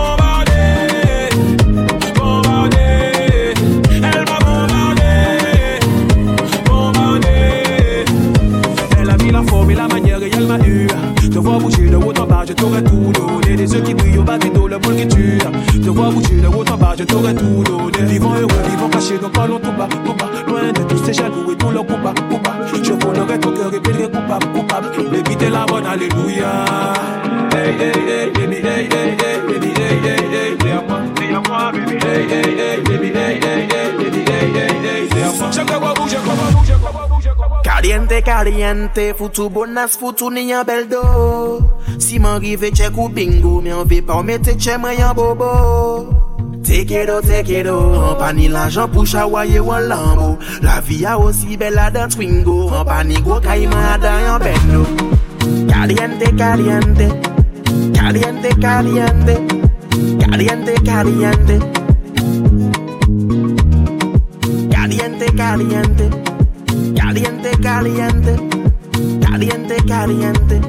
te vois bouger de haut en bas, je t'aurais tout donné. Les yeux qui brillent au bas des dos, le boule qui tue. Te vois bouger de haut en bas, je t'aurais tout donné. Vivant heureux, vivant caché, donc parlons tout bas, tout bas. Loin de tous ces jaloux et tout leur coupa, coupa. Je volerai ton cœur et pélerai coupable, coupable. Baby, t'es la bonne, alléluia. Hey, hey, hey, baby, hey, hey, hey, baby, hey, hey, hey, t'es à moi, t'es à moi, baby. Hey, hey, hey, baby, hey, hey, hey, baby, hey, hey, hey, t'es à moi. Je te vois bouger, comment bouger, comment bouger, comment. Caliente, caliente, foutu bonas, foutu ni en bel do. Si m'arrive check ou bingo, mais on veut pas mettre check moi en bobo. Take it out, take it out. En pas ni l'argent pour chawailler ou en lambo. La vie a aussi belle à dans Twingo. En pas ni gros caïman à dans en bendo. Caliente, caliente, caliente, caliente, caliente, caliente, caliente, caliente. Caliente, caliente, caliente, caliente,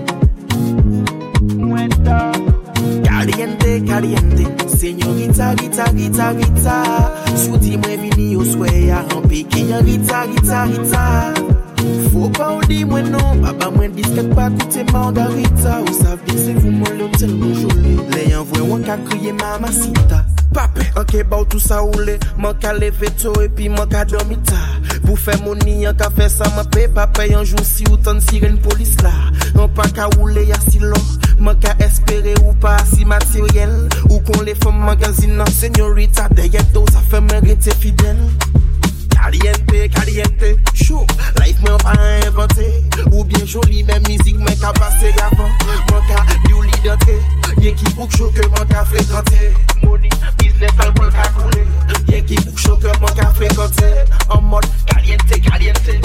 caliente, caliente. Señorita, Rita, Rita, Rita. Souti moi vini au soya, en piqué, Rita, Rita, Rita. Faut pas ou di moi non, papa moi biscuit pas coûter margarita. Ou savez c'est vous moi l'hôtel mon joli. Les envoie ou qu'a crier mamacita. Pape, ok, bah tout ça oulé. Mon ka levé tôt et puis mon ka dormi tard. Pour faire mon nid, on ka fait ça, mon paye pas paye un jour si autant de sirène police là. On pas ka rouler y'a si long. Mon ka espérer ou pas si matériel. Ou qu'on les femmes magazine non, señorita. Derrière tout ça fait mériter fidèle. Caliente, caliente, chaud. Life m'en pas inventé. Ou bien joli, même musique, mais qu'à passer avant. Mon cas, du lit d'entrée. Y'a qui bouge chaud que mon cas fréquenté. Money, business, alcool, calculé. Y'a qui bouge chaud que mon cas fréquenté. En mode caliente, caliente.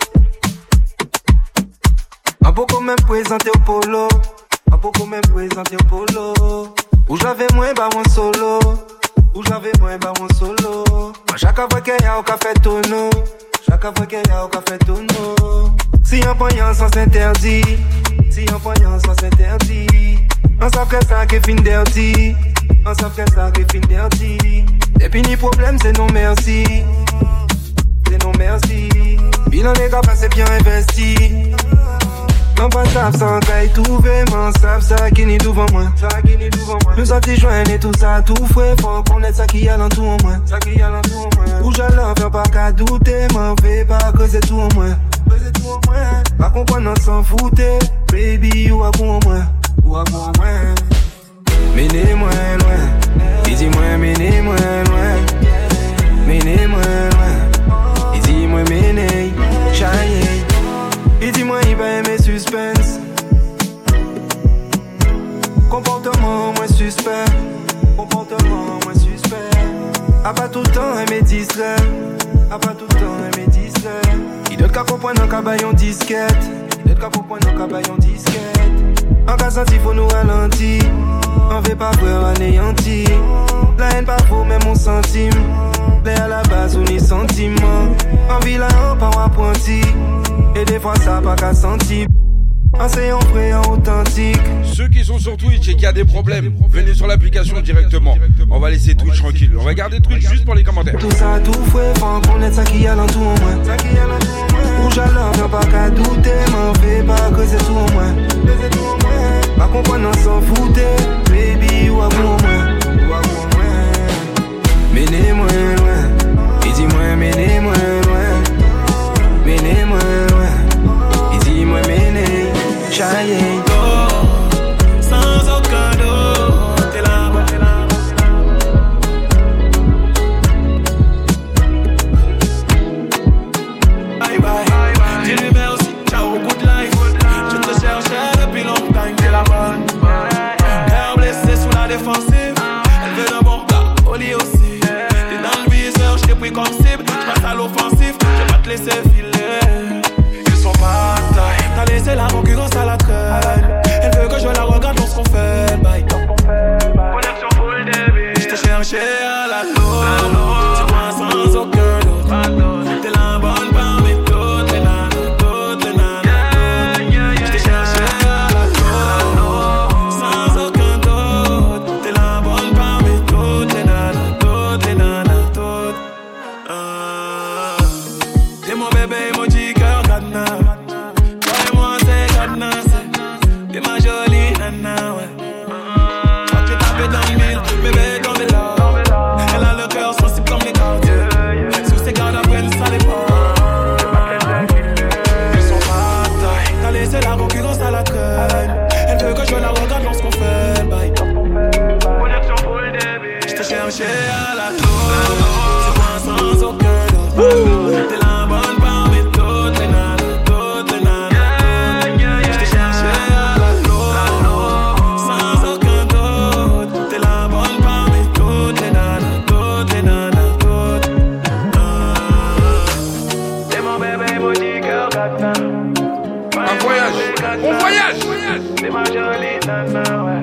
Un beaucoup même présenté au polo. Un beaucoup même présenté au polo. Où j'avais moins, bah, moins solo. Où j'avais moi bah mon solo. Moi chaque fois qu'il y a au café tonneau, chaque fois qu'il y a au café tonneau. Si un poignant sans s'interdit, si un poignant sans s'interdit, on s'appelle ça qui fin dirty, on s'appelle ça qui fin dirty. Et puis ni problème c'est non merci, c'est non merci. Bilan des gars c'est bien investi. Non pas ça sans caille tout vraiment savent ça qui n'est devant moi, ça qui n'est devant moi. Nous sortis joindre et tout ça tout frais, faut connaître ça qui a l'en tout en moi, ça qui a l'en tout en moi. Où j'allais faire pas qu'à douter, m'en fais pas que c'est tout en moi, que c'est tout en moi. Pas comprendre on s'en foutait, baby ou à bon en moi, ou à bon en moi. Menez-moi loin, dis-moi menez-moi loin, menez-moi loin, dis-moi menez, chaye. Et dis-moi, il va aimer suspense. Comportement moins suspect. Comportement moins suspect. A pas tout le temps aimer distrait. A pas tout le temps aimer distrait. Il doit qu'à comprendre un cabayon disquette. Il doit qu'à comprendre un cabayon disquette. En cas senti, faut nous ralentir. On veut pas voir anéanti. La haine pas faux, même mon centime. L'air à la base, on est sentiment. En vilain, on pas apprenti. Et des fois ça pas qu'à sentir. Enseignant vrai en authentique. Ceux qui sont sur Twitch et qui a des problèmes, venez sur l'application directement. On va laisser Twitch tranquille. On va garder Twitch juste pour les commentaires. Tout ça tout fouet, faut connaître ça qui a l'en tout en moi, ça qui a l'en tout en moi. Où j'allais, y'a pas qu'à douter, m'en fais pas que c'est tout en moi, que c'est tout en moi. Pas comprendre on s'en foutait, baby ou à bon en moi, ou à bon en moi. Menez-moi loin, et dis-moi menez-moi loin, menez-moi loin, et dis-moi menez, chaye. Sans aucun doute, t'es là, t'es là. Bye bye, dis-lui merci, ciao, good life. Je te cherchais depuis longtemps, t'es la bonne. Cœur blessé sous la défensive, elle veut d'un bon gars, au lit aussi. T'es dans le viseur, j't'ai pris comme cible. J'passe à l'offensif, je vais pas te laisser filer. Ils sont pas taille, t'as laissé la concurrence à la traîne. Elle veut que je la regarde lorsqu'on fait le bail. Connexion full débit. J't'ai cherché à la loupe, tu vois sans aucun doute. T'es la bonne parmi toutes les nanas, toutes les nanas. J't'ai cherché à la loupe, sans aucun doute. T'es la bonne parmi toutes les nanas, toutes les nanas, toutes. Ah. T'es mon bébé, emoji, cœur cadenas. Toi et moi c'est cadenas. T'es ma jolie nana, ouais. Quand tu tapes dans le mille, bébé tombé là. Elle a le cœur sensible comme les cartes. Sous ses gardes après ça dépend. Ils sont pas taille. T'as laissé la concurrence à la traîne. Elle veut que je la regarde lorsqu'on fait le bail. Connexion full débit. J't'ai cherché à la tour. Tu vois sans aucun doute. T'es la bonne parmi toutes les nanas, toutes les nanas. J't'ai cherché à la tour. Sans aucun doute. T'es la bonne parmi toutes les nanas, toutes les nanas, toutes. Ah. T'es mon bébé, mon petit cœur cadenas. Un voyage, on voyage. T'es ma jolie nana, ouais.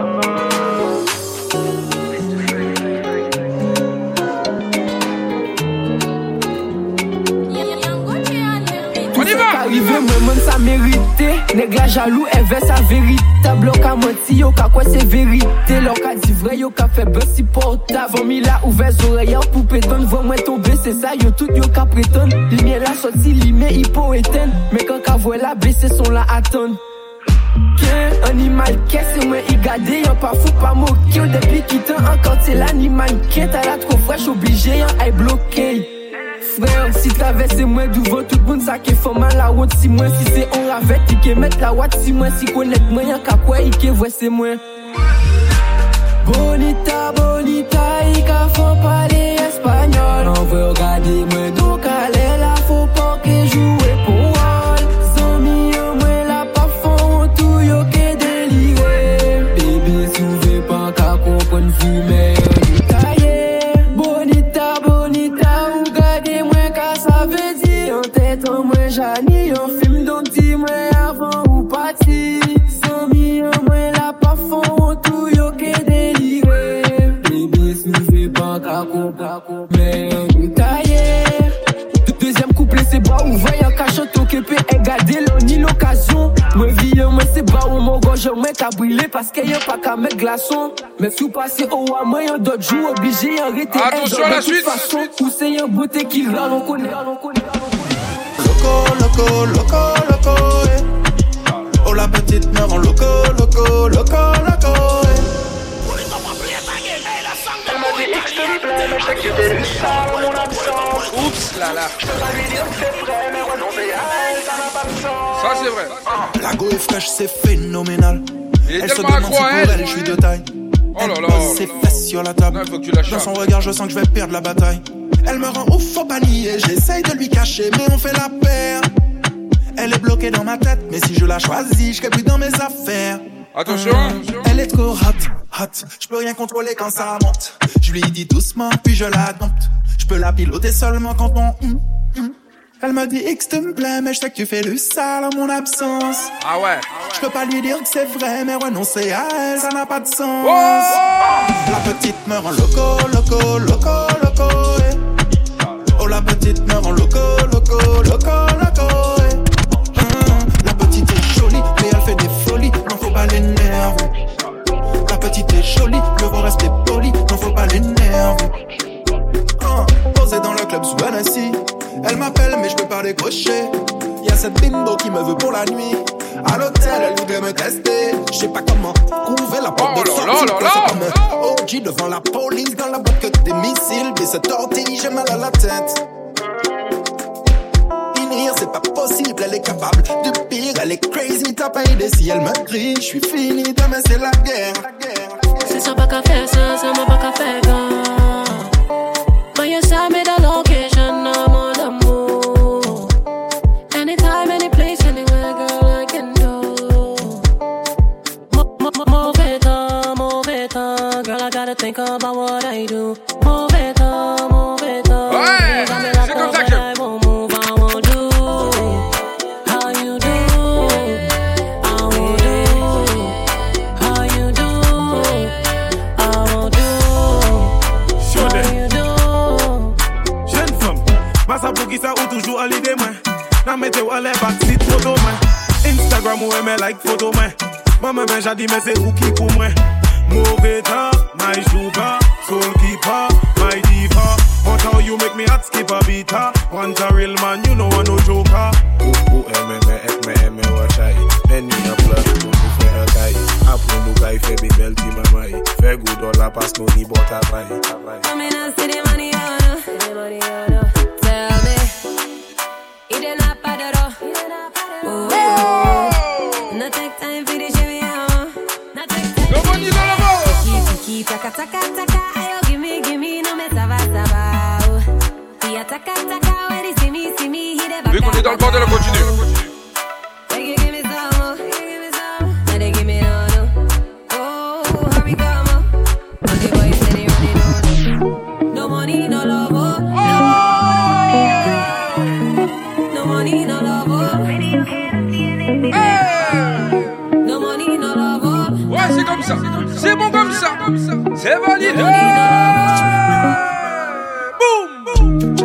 Arrivé, moi, même ça mérité. Nèg la jaloux, elle veut sa vérité. Bloc à menti, yo, ka quoi c'est vérité. L'on ka dit vrai, yo, ka fait buzz si portable. Vomi la ouvert oreilles pour pétonne. Vois moi tomber, c'est ça, yo, tout yo, ka prétonne. Lumière la sortie, limé, hypo éteint. Mais quand ka voit la baisser, son la attendre. Qu'un animal qu'est c'est moi y garder, y'a pas fou, pas moqué. Depuis qu'il t'a encore, c'est l'animal qu'est. T'as la trop fraîche, obligé, y'a aille bloqué. Frère, si t'avais c'est moi devant tout le monde, ça qui fait mal la route. Si moi, si c'est on ravette, il qui met la watt. Si moi, si connaître moi, y'a qu'à quoi, il qui voit c'est moi. Bonita, bonita, il qu'a fait parler espagnol. On veut regarder moi, donc allez là, faut pas que jouer pour all. Sans millions, moi, la pas fond, tout yo qui déliré. Bébé, souvez pas qu'à comprendre, vu, mais Jani, un film dont dis-moi avant ou parti. Sans millions, moi la pas fond, tout yo qui déliré. Bébé, si je vais pas qu'à Mais un taillé. Deuxième couplet, c'est bas où voyant cachot occupé et garder l'on l'occasion. Moi, vie, moi, c'est bas où mon gorge, moi, qu'à brûler parce qu'il y a pas qu'à mettre glaçon. Mais sous passé au à moi, y'a d'autres jours obligés d'arrêter. Attention à la suite. Où c'est un beauté qui râle, on connaît. Loco, loco, loco, loco, eh. Oh la petite mère en loco, loco, loco, loco, eh. Elle m'a dit X te plaît, mais je sais que tu t'es lu ça dans mon absence. Oups là là. Je peux pas lui dire que c'est vrai, mais renoncer à elle, ça n'a pas de sens. Ça c'est vrai. La go est fraîche, c'est phénoménal. Il est Elle se tellement demande si accro pour à elle. elle, je suis de taille. Oh là Elle là. pose ses fesses sur la table. Non, il faut que tu la Dans son regard, je sens que je vais perdre la bataille. Elle me rend ouf, faut pas nier. J'essaye de lui cacher, mais on fait la paire. Elle est bloquée dans ma tête, mais si je la choisis, je serai plus dans mes affaires. Attention. Elle est trop hot, hot. Je peux rien contrôler quand ça monte. Je lui dis doucement, puis je la dompte. Je peux la piloter seulement quand on. Mm, mm. Elle me dit X te me plaît, mais je sais que tu fais le sale en mon absence. Ah ouais. Je peux pas lui dire que c'est vrai, mais renoncer à elle, ça n'a pas de sens. Oh La petite me rend loco, loco, loco, loco, eh. Oh la petite me rend loco, loco, loco, loco, eh. Hum, La petite est jolie, mais elle fait des folies, non faut pas l'énerver. La petite est jolie, le faut rester poli, non faut pas l'énerver. Hum, Posée dans le club sous Hennessy, elle m'appelle mais je peux pas décrocher. Y'a cette bimbo qui me veut pour la nuit. À l'hôtel, elle voudrait me tester. Je sais pas comment trouver la porte Oh de là sortie. là là là. C'est comme un O G devant la police. Dans la boîte que des missiles. Mais cette tortille, j'ai mal à la tête. Finir, c'est pas possible. Elle est capable de pire. Elle est crazy, t'as pas idée. Si elle me crie, je suis fini. Demain, c'est la guerre. C'est ça pas qu'à faire ça, ça m'a pas qu'à faire ça. Mais y'a ça, mais dans location, non, mon amour. Anytime, any place, anywhere, girl, I can do. Mauvais temps, mauvais temps, girl, I gotta think about what I do. Mauvais temps, mauvais temps. Ouais, c'est comme ça que. I won't move, I won't do. How you do? I won't do. How you do? I won't do. Show them. How you do? Jeune femme, massa pour qui ça ou toujours à l'idée, moi. N'a mette ou à l'air backseat photo, moi. Instagram ou aimer like photo, moi. Maman ben j'ai dit mais c'est où qui pour moi. Mauvais temps, my sugar, soul keeper, my diva. But how you make me hot skip a beat, huh? Want a real man, you know I no joker. Ou ou aime me aime me aime watch I. Men you a plus, you fais un taille. Après nous gars fait be belle ti mamai. Fait good all la passe no ni bota vai. I mean I see the money on her. See the money on her. Tell me, it ain't not bad at all. Oh, oh. Not take time for the shimmy on. Not take time. Le money dans la main. Kiki kiki taka taka taka. Ayo gimme gimme no me sava sava. Oh, yeah taka taka when he see me see me he de Vu qu'on est dans le bordel, on continue. Make you give me some more. Give me some. Now they give me no no. Oh, hurry come on. But the boy said he running on. No money, no love. Oh. No money, no love. Oh. No money, no love. Oh. Ouais, c'est comme ça. C'est bon comme ça. C'est validé. Boum.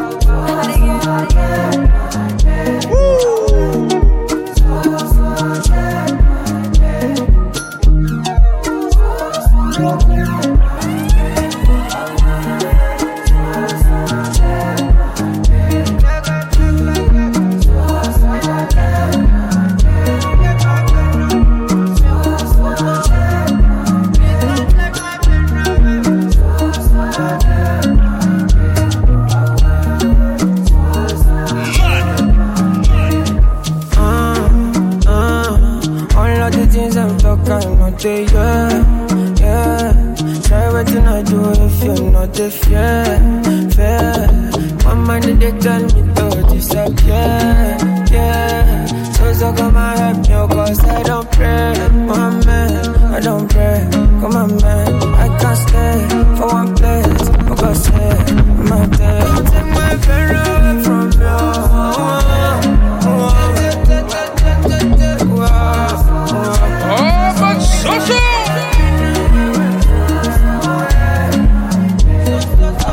day, yeah, yeah. Try what you not do if you're not the fair, fair. My mind they tell me to disappear, yeah. So so come and help me, cause I don't pray, my man, I don't pray. Come on, man, I can't stay for one place, because say my day. Take my friend away from you. Oh, but so so.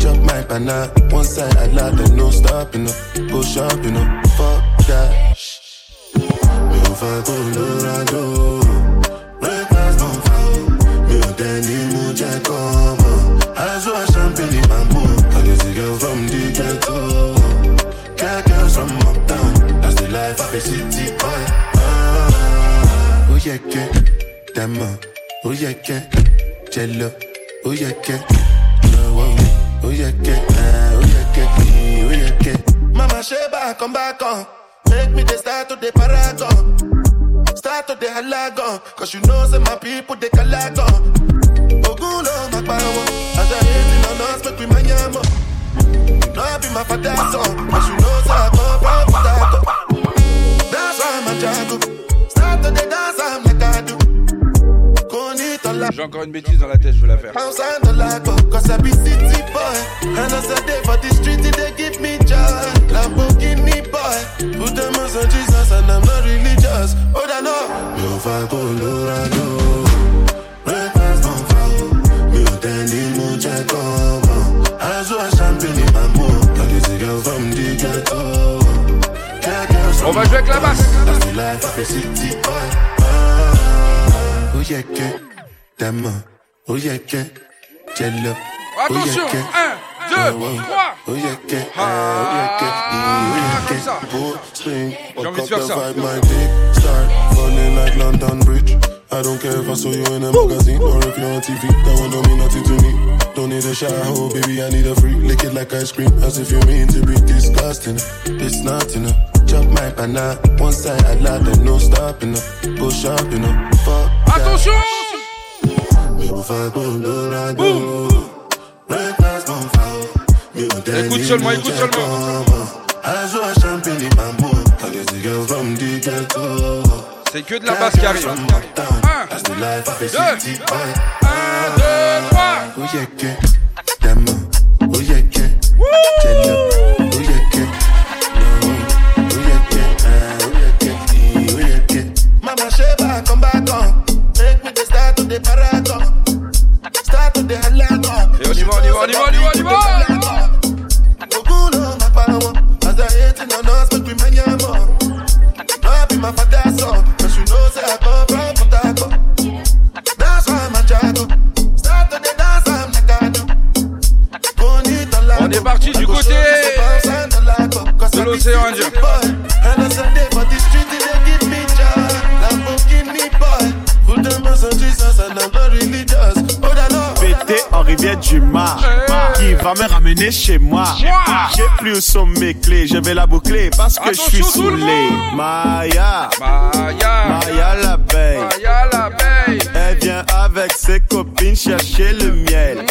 Chop my banana, one side I loud and no stopping up. Go shopping up, fuck that. Me over Colorado, red glass don't fall. Me on Danny Muja come. I saw champagne in my mood. I just a girl from the ghetto. Cat girls from uptown. That's the life of a city boy. Ah, oh yeah, yeah, Dama. Oh yeah, yeah, Jello. Oh yeah, yeah. Oh yeah, yeah, oh yeah, yeah, oh yeah, yeah. Mama Sheba, come back on. Make me the start to the paragon. Start to the halagon. Cause you know, say my people, they calagon. Oguno, my power. As I hate in on us, make me my yamo. No, I be my father's son. Cause you know, say I come from Potato. That's why I'm a jago. Start to the dance, I'm like I do. J'ai encore une bêtise dans la tête, je veux la faire. Cause I be city boy. And as I day for the street, they give me joy. Lamborghini boy. Put them on Jesus and I'm not religious. Oh, I know. Me over Colorado. Red glass don't fall. Me on Danny Muja come. I saw a champagne in my mood. Like it's a girl from the ghetto. On va jouer avec la basse. That's the life of a city boy. Ah, oh yeah, yeah. Dama, oh yeah, yeah, Jello. Attention, un, deux, trois. Oh yeah, yeah, oh yeah, yeah, comme ça. J'ai envie de faire ça. Start falling like London Bridge. I don't care if I saw you in a magazine or if you're on T V. That one don't mean nothing to me. Don't need a shower, oh baby, I need a freak. Lick it like ice cream, as if you mean to be disgusting. It's not enough. Chop my banana, one side I loud and no stopping up. Go shopping up, fuck that. Attention. Écoute seulement, écoute seulement. C'est que de la basse qui arrive. Un, deux, un, deux, Mama Sheba, come back on. Make me the start to the paragon. Start to the halagon. Et on y va, on y va, on y va, on y va, on y va. Oguno, my power. As I hate in on us, make me my yamo. I be my father's son. Cause you know, say I come from Potato. That's why I'm a jago. Start to the dance, I'm like I do. On est parti du côté de l'océan Indien. And as I day for the street, they give me joy. Lamborghini boy. Put them on Jesus and I'm not religious. Oh, I know. Pété en rivière du Mar, qui va me ramener chez moi. J'ai plus où sont mes clés, je vais la boucler parce que je suis saoulé. Maya, Maya, Maya l'abeille, Maya l'abeille. Elle vient avec ses copines chercher le miel.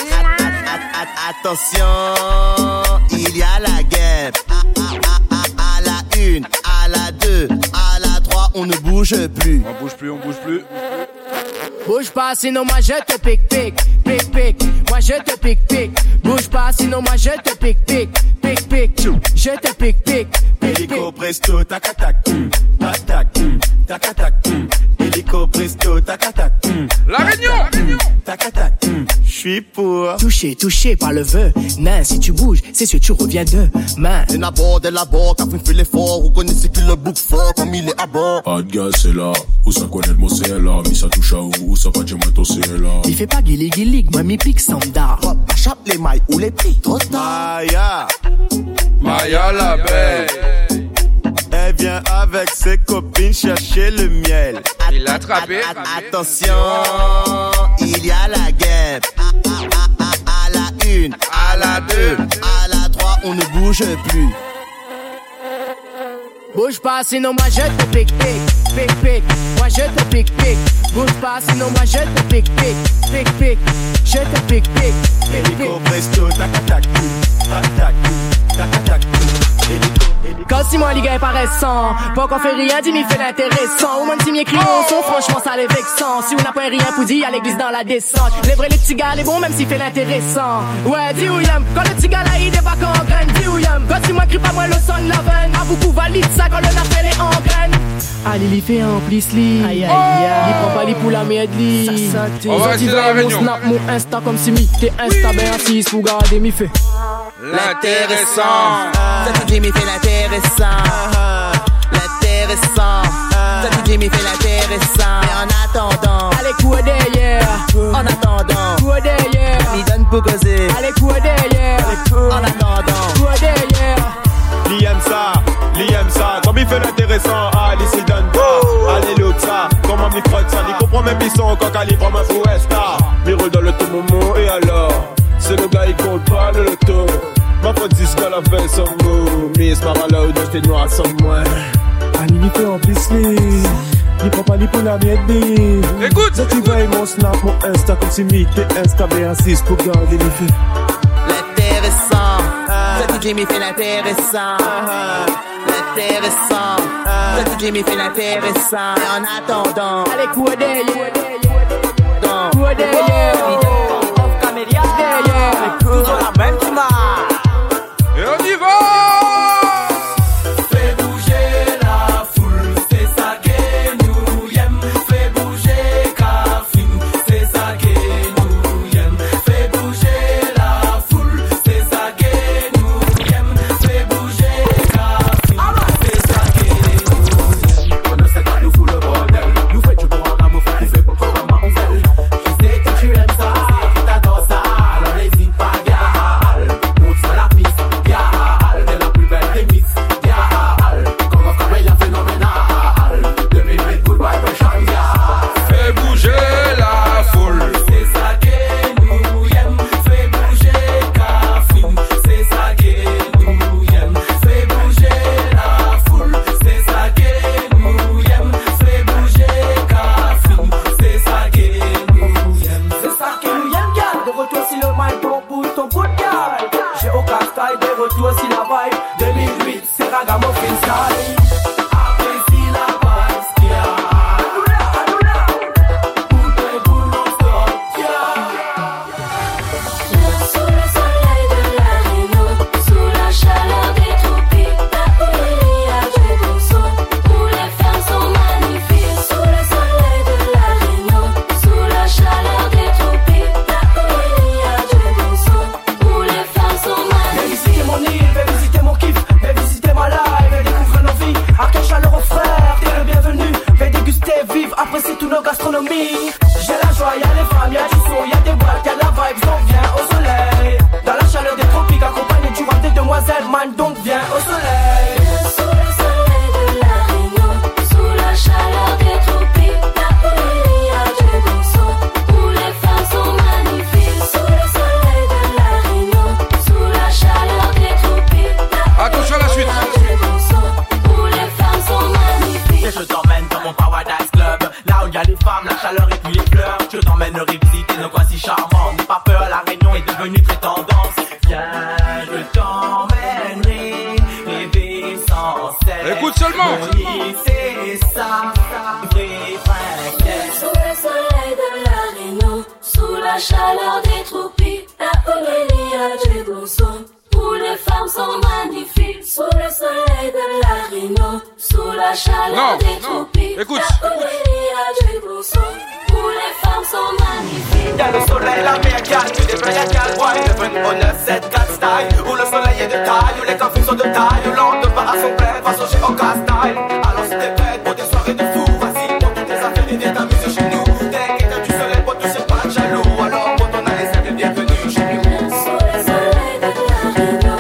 Attention, il y a la guerre. À la une, à la deux, à la trois, on ne bouge plus. On bouge plus, on bouge plus. Bouge pas, sinon moi je te pique, pique, pique, pique. Moi je te pique, pique. Bouge pas, sinon moi je te pique, pique, pique, pique. Je te pique, pique, pique. Hélico presto, tac tac, tac tac, tac tac. Hélico presto, tac tac. La Réunion, tac tac. Je suis pour touché, touché par le vœu. Nain, si tu bouges, c'est sûr tu reviens demain. De la bord, de la bord, Catherine fait l'effort. Vous connaissez qu'il le bouc fort comme il est à bord. Pas de gaz, c'est là. Où ça connaît le mot, c'est là. Mais ça touche à où, ça va dire moi, toi, c'est là. Il fait pas guili guili, moi mi pique sanda. Chape les mailles ou les prix, trop tard. Maya, Maya l'abeille. Elle vient avec ses copines chercher le miel. Il l'a attrapé. Attention, il y a la guerre. À la une, à la deux, à la trois, on ne bouge plus. Bouge pas, sinon moi je te pique, pique, pique, pique. Moi je te pique, pique. Bouge pas, sinon moi je te pique, pique, pique, pique. Je te pique, pique, pique, pique. Hélico presto, tac tac, Quand si moi les gars est paraissant, pas qu'on fait rien, dis m'y fait l'intéressant. Au moins si m'y écrit mon son, franchement ça les vexant. Si on n'a pas rien pour dire, à l'église dans la descente. Les vrais les petits gars, les bons même s'il fait l'intéressant. Ouais, dis où y'aime, quand le petit gars là il débarque en graine, dis où y'aime. Quand si moi crie pas moi le son de la veine, à beaucoup valide ça quand le appel est en graine. Allez, il fait un plus li. Aïe aïe aïe. Il prend pas les poules à merde li. Ça santé. On va rester dans la réunion. Mon snap, mon insta comme si mi t'es insta ben assis pour garder mi fait. L'intéressant. Ça tu dis mi fait l'intéressant. L'intéressant. Ça tu dis mi fait l'intéressant. Mais en attendant, allez quoi derrière. En attendant, quoi derrière. Mi donne pour causer. Allez quoi derrière. En attendant, quoi derrière. Li aime ça, li aime ça. Comme il fait l'intéressant, ah, li s'y donne pas. Allez, l'autre ça, comment m'y frotte ça. Il comprend même ils sont quand calibre ma fouesta. Mi roule dans le tout moment et alors. C'est le gars, il compte pas le loto. Ma faute dit qu'elle a fait son mot. Mais c'est pas là où j'étais noir sans moi. Allez, il fait en plus li. Il prend pas les pour la miette li. Écoute, ça tu vois mon snap, mon insta. Comme si mi t'es insta B six pour garder les faits. L'intéressant. Ça tu dis mi fait l'intéressant. L'intéressant. Ça tu dis mi fait l'intéressant. Et en attendant, allez quoi derrière. Quoi derrière. Toujours la même image. Et on y va. Fais bouger la foule, c'est ça que nous aime. Fais bouger Kafim, c'est ça que nous aime. Fais bouger la foule, c'est ça que nous aime. Fais bouger Kafim, c'est ça que nous aime. On ne sait pas nous fout le bordel. Nous fait du bon amour, faut fait pour qu'on m'envelle. Je sais que tu aimes ça, que t'adores ça. Alors n'hésite pas, gal. Monte sur la piste, gal. T'es la plus belle des mix, gal. Comme un travail phénoménal. deux mille huit, goodbye, Russian, gal. Fais bouger la foule. C'est ça que nous aime. Fais bouger Kafim, c'est ça que nous aime. Fais bouger la foule, c'est ça que nous aime. Fais bouger Kafim, c'est ça que nous aime. C'est ça que nous aime, gal. De retour si le mic bon pour ton coup de gal. J'ai aucun style, de retour si la vibe. deux mille huit, c'est Ragamuffin style. Apprécie la vibe, gal. Sous le soleil de la Réno, sous la chaleur des tropiques, la poésie a du bon son, où les femmes sont magnifiques. Sous le soleil de la Réno, sous la chaleur des tropiques, la poésie a du bon son, où les femmes sont Viens visiter magnifiques. mon île, viens visiter mon kiff, viens visiter ma live, viens découvrir nos vies. À quel chaleureux frère, t'es le bienvenu. Viens déguster, vivre, apprécier tous nos gastronomies. J'ai la joie, y'a les femmes, y'a du son, y'a des boîtes, y'a de la vibe, donc viens au soleil. Dans la chaleur des tropiques, accompagné du roi des demoiselles, man, donc viens au soleil. Sous le soleil de la Réno, sous la chaleur des tropiques, la poésie a du bon son, où les femmes sont magnifiques. Sous le soleil de la Réno, sous la chaleur des tropiques, la Attention à la suite. poésie a du bon son, où les femmes sont magnifiques. Et je t'emmène dans mon Paradise Club, là où y a les femmes, la chaleur et puis les fleurs. Je t'emmène revisiter nos coins si charmants. N'aie pas peur, la Réunion est devenue très tendance. Viens, je t'emmènerai, rêver sans cesse. Écoute seulement. Mon île, c'est ça, vrai, vrai. Sous le soleil de la Réno, sous la chaleur des tropiques, la poésie a du bon son, où les femmes sont magnifiques. Sous le soleil de la Réno, sous la chaleur Non, des non. tropiques, Écoute. la poésie a du bon son, où les femmes sont magnifiques. Y'a le soleil, la mer, gal, tu devrais être gal, ouais, devenu au neuf sept quatre style, où le soleil est de taille, où les coffres sont de taille, où l'on ne part à son plein, façon chez Oka style. Alors si t'es prête pour des soirées de fou, vas-y, pour toutes tes affaires et viens t'amuser chez nous. T'inquiète du soleil, pour tous ces pas de jaloux, alors pour ton aller, c'est bienvenue chez nous. Sous le soleil de la Réno,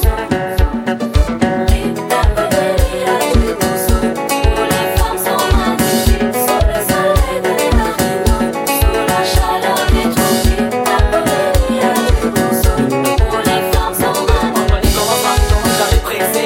la poésie a du bon son, où les femmes sont magnifiques. Sous le soleil de la Réno, sous la chaleur des tropiques, la poésie a du bon son, où les femmes sont magnifiques. J'avais pressé,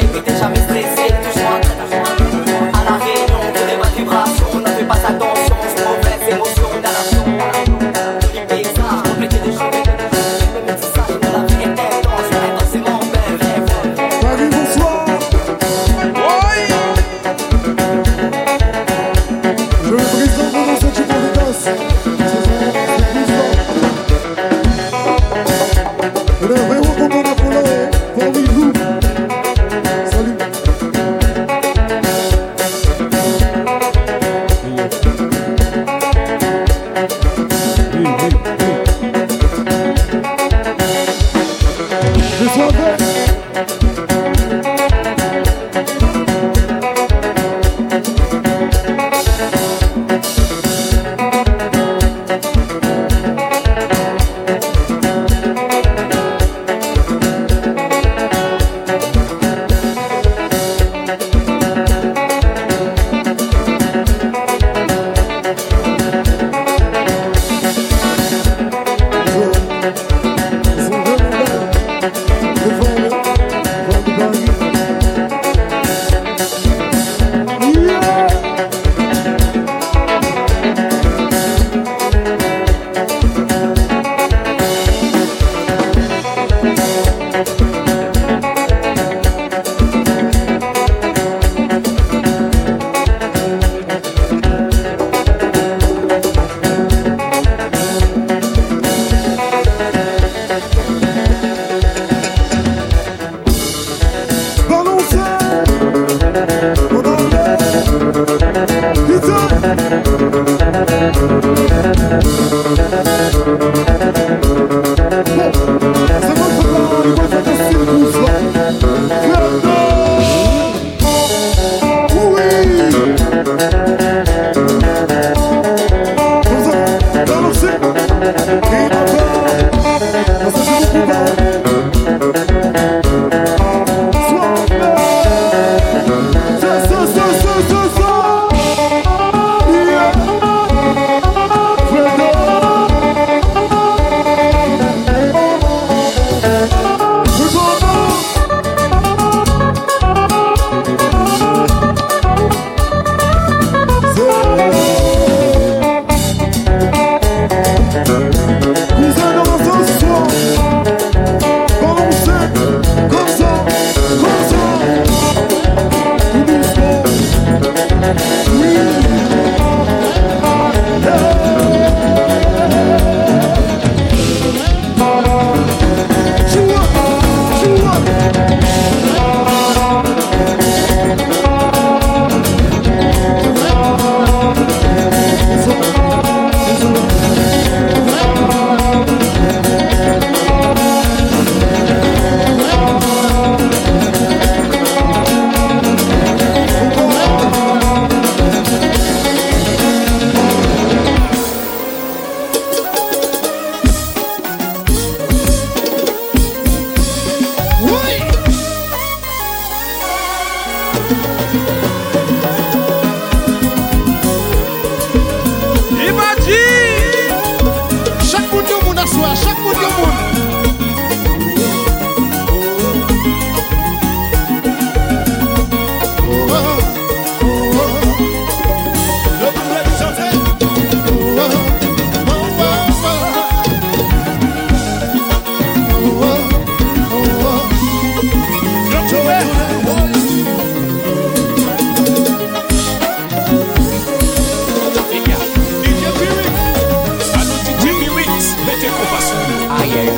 Aïe aïe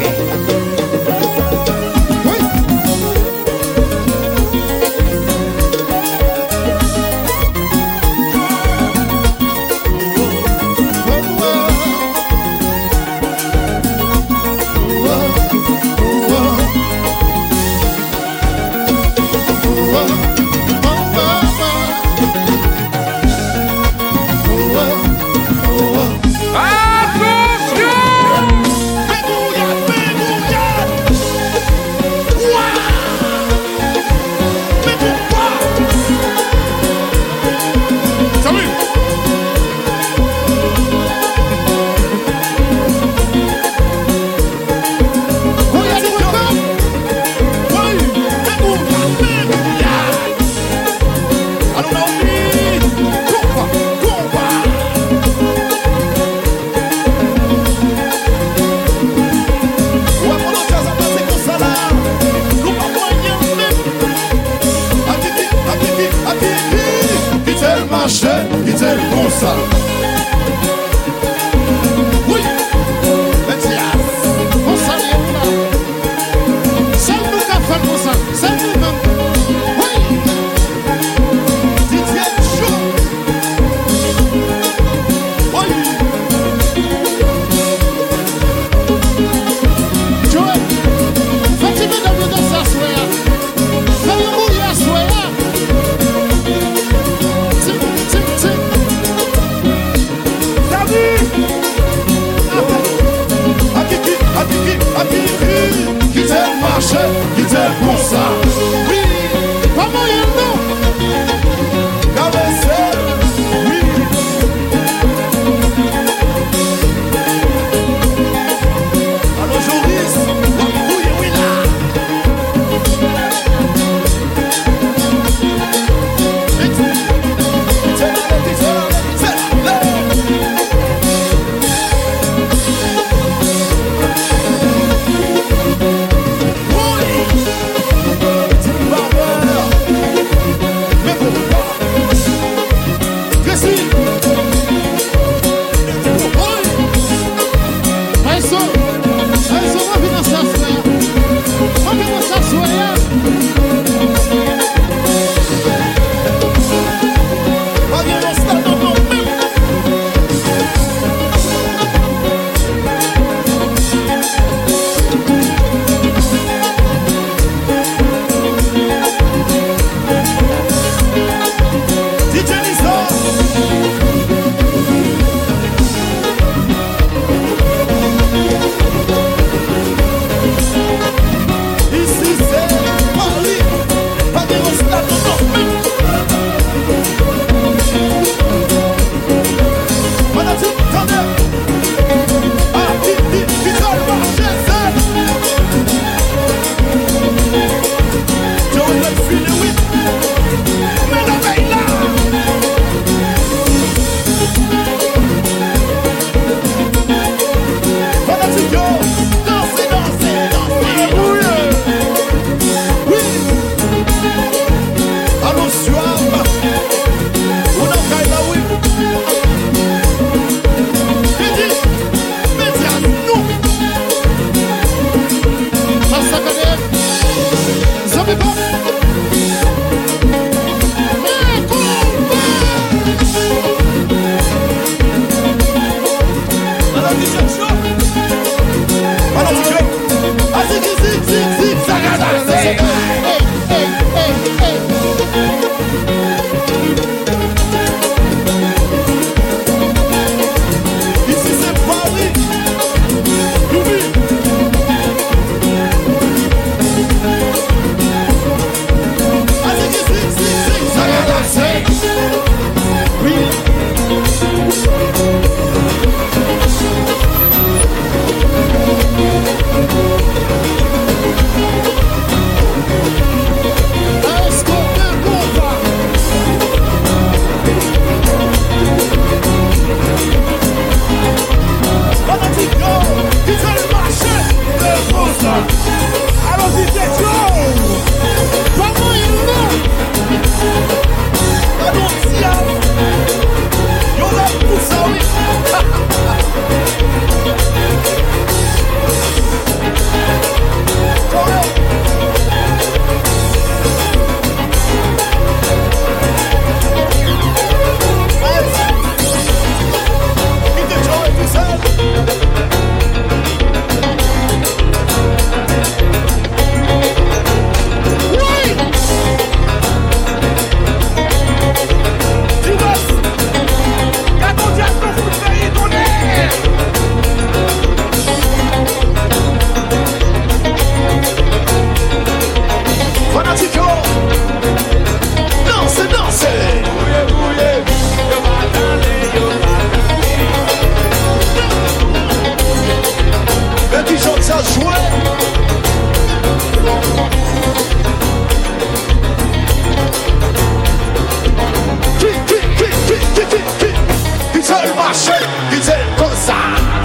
marché, qui c'est comme ça.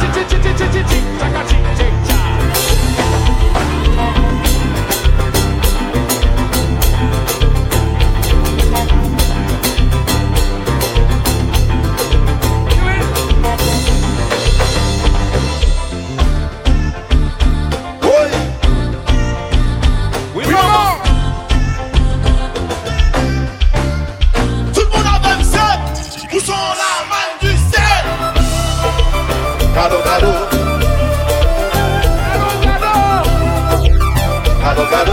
Cadeau, cadeau. Cadeau, cadeau.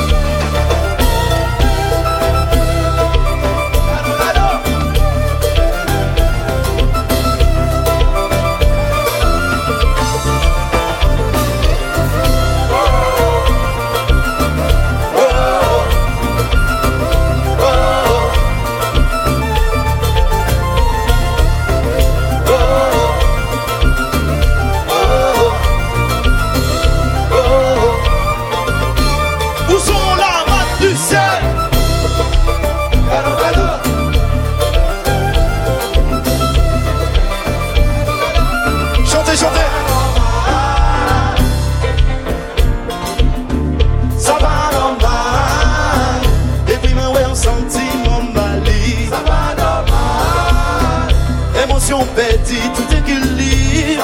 Petit, tout équilibre.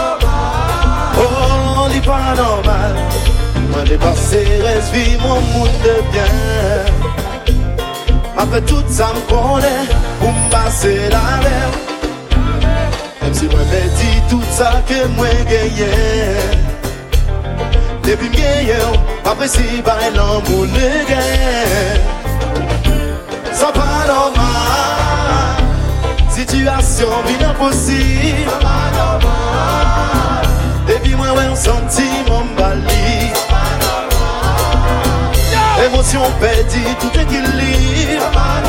Oh, n'est pas normal. Moi, dépassé, reste vivre mon monde de bien. Après tout ça, me connaît pour me passer la mer. Même si moi, petit, tout ça que moi, gagné. Depuis meilleur, après si, bah, l'amour ne gagne. Ça pas normal. Situation bien impossible. Depuis moi, ouais, on sentit mon bali. Émotion perdue, tout équilibre.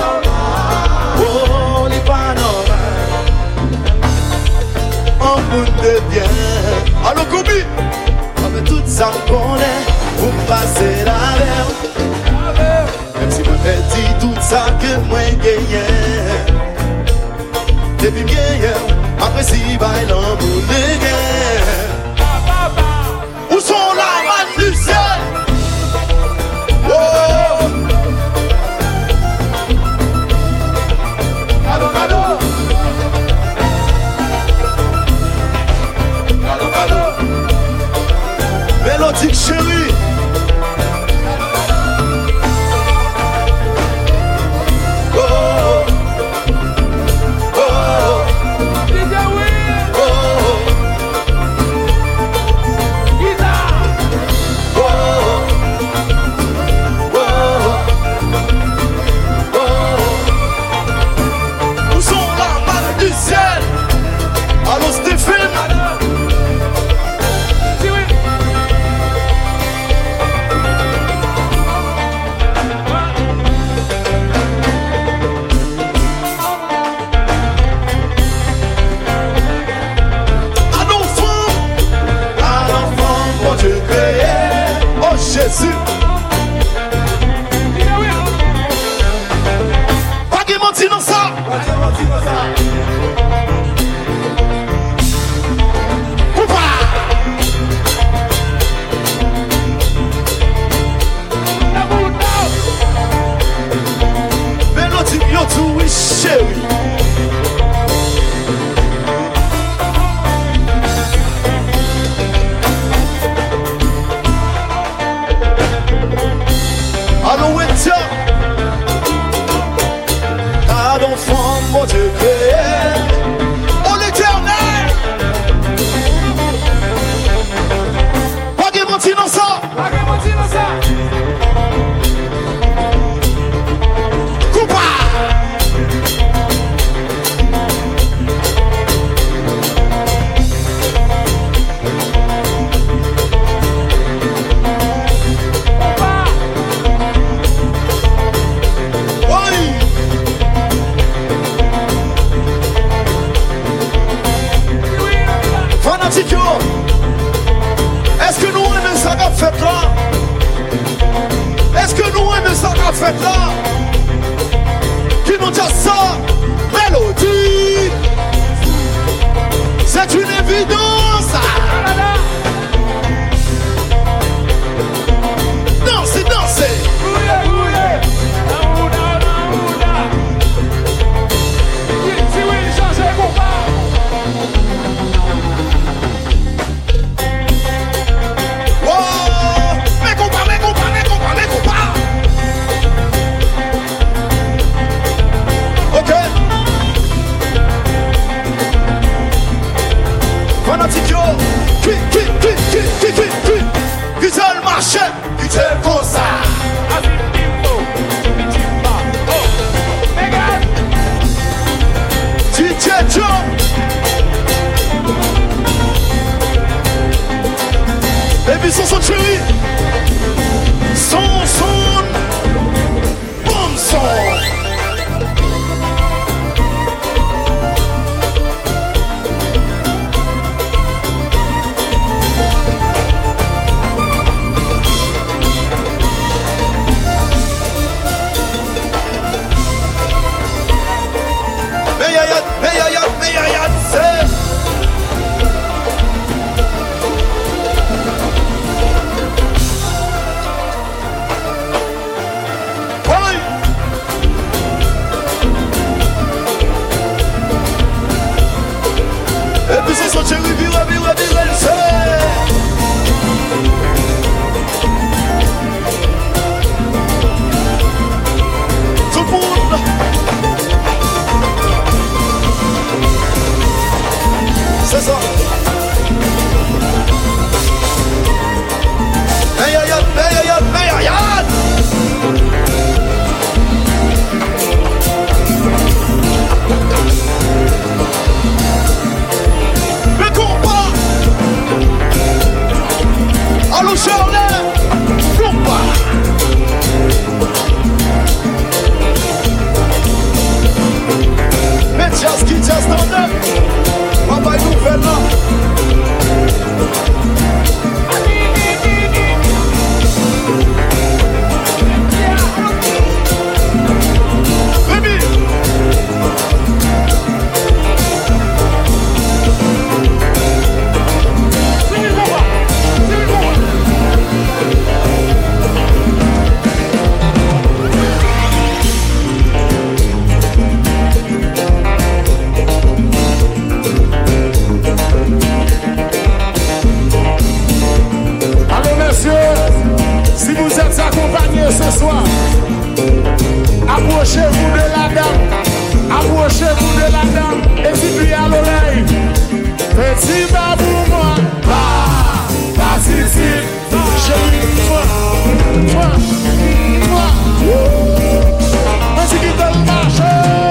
Oh, n'est pas normal. On monde de bien. Allô, Kobi? Avec tout ça, on connaît. Pour me passer la mer. Même si moi, perdu tout ça que moi, gagné. Depuis meilleur, après si bail l'amour de guerre. Où sont la manne du ciel? Oh! Cadeau, cadeau. Cadeau, cadeau. Mélodique chérie. Jésus. Pas de mentir dans ça. Coupa. Mélodie, yo tout, oui, chérie. Car d'enfant, mon Dieu créé, oh l'éternel. Pas de mentir dans ça. Pas de mentir dans ça. Coupa. Est-ce que nous aimons ça qu'a fait là? Est-ce que nous aimons ça qu'a fait là? Qui nous dit ça? Mélodie. fanatique yo. Qui, qui, qui, qui, qui, qui, qui. Qui t'est le marché, qui t'est le concert. D J Joe. Et puis son son chéri. Son son. Bon son. Meyayat, meyayat, meyayat, c'est. Et puis c'est son chéri, vire, vire, vire, elle sait. Tout le monde. C'est ça. Meyayat, meyayat, meyayat. Le combat. Allô Charlet. Combat. Mais jazz qui jazz dans le papa est nouvelle là. Rémi. Allô messieurs, si vous êtes accompagnés ce soir, approchez-vous de la dame, approchez-vous de la dame, et dites-lui à l'oreille, petit babou moi, bah, participe, chérie, moi, moi, moi, vas-y qui te le marche.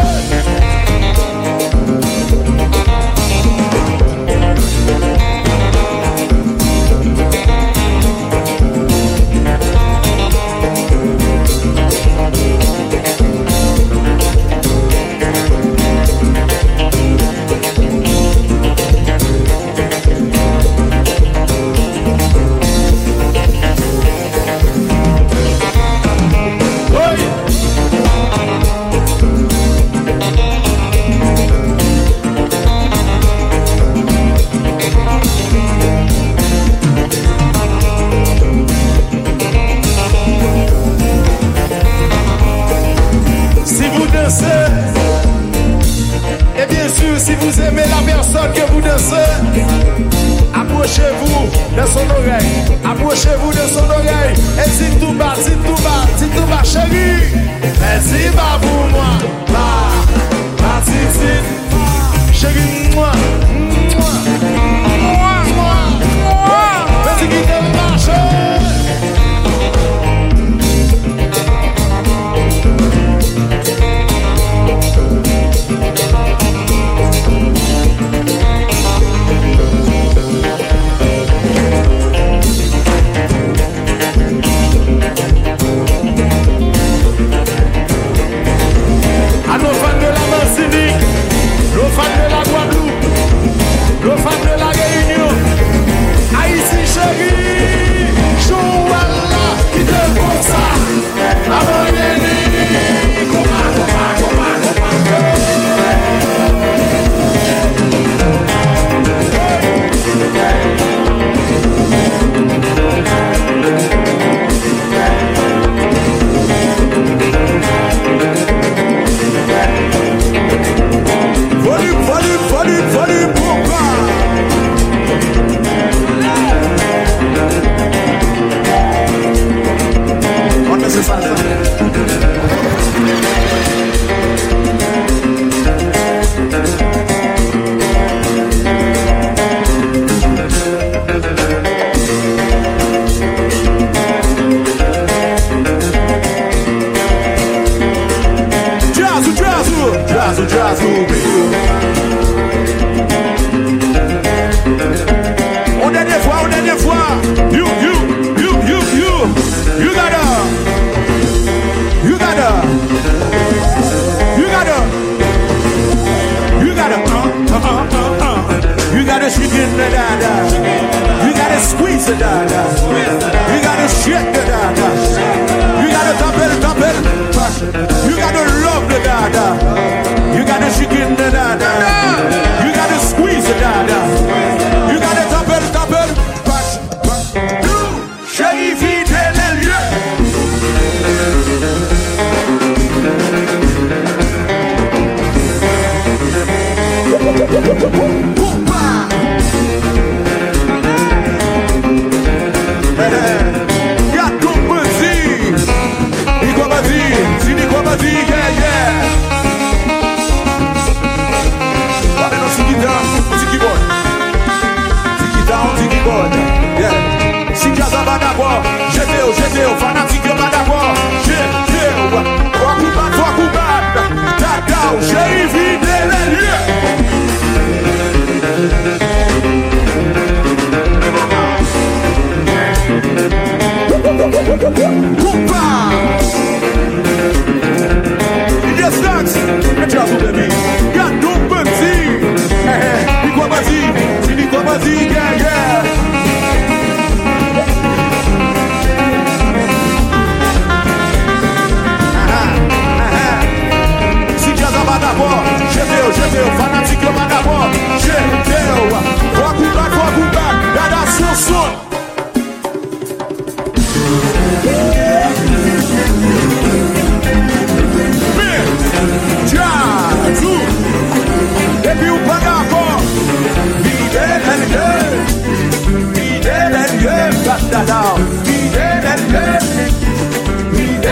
Et bien sûr, si vous aimez la personne que vous dansez, approchez-vous de son oreille, approchez-vous de son oreille, et dites tout bas, dites tout bas, dites tout bas, chérie, et dis bas pour moi, bah, bah, dites, dites, chérie, moi, moi, moi, moi, moi, vas-y qui te marche. À nos fans de la Martinique, nos fans de la Guadeloupe, gotta shake it, da da da. You gotta squeeze it, da da. You gotta shake it, da da. You gotta dump it, dump it. You gotta love the da da. You gotta shake it, da da da. You gotta squeeze it, da da. You gotta dump it, dump it. Shaggy feet and then Gato Banzi, Nico Banzi, si Nico Banzi, yeah, yeah. Olha no Siquitão, Siquibone, Siquitão, Siquibone, yeah. Siquitão, Badabó, Gedeu, Gedeu, Fanatique, Badabó, Gedeu, Foco, Foco, Bada, Tadau, Xerife, Delelê. Opa! E distância, é diabo, bebê. Gato Banzi, é, Nico Banzi, se Nico Banzi, yeah, yeah. Se dias a Badabó, Gedeu, Gedeu, Fanatique, Badabó, Gedeu, foco, back, foco, back, é da sua som. Depuis ou pas d'accord, l'idée d'un gueule, l'idée d'un gueule, battada, l'idée d'un gueule, l'idée.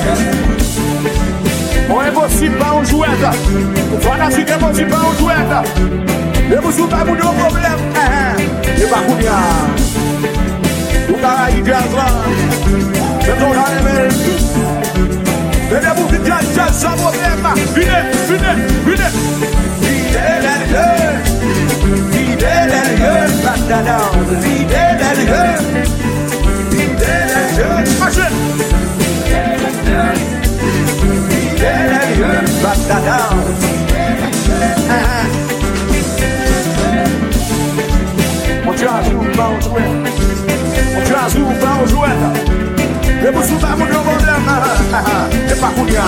On est possible pas en jouette, on fanatique est possible pas en jouette. Et vous souvenez pas de nos problèmes, et pas combien. Vous avez dit à ça, c'est ton année. Venez-vous vite, jazz, sans problème. Venez, venez, venez. Fidèle gueule, fidèle gueule, battada, fidèle gueule, fidèle gueule, marchez. Fidèle gueule, battada. On jazz ou pas on jouet, on jazz ou pas on jouet. Et vous souvenez mon problème, c'est pas couillard.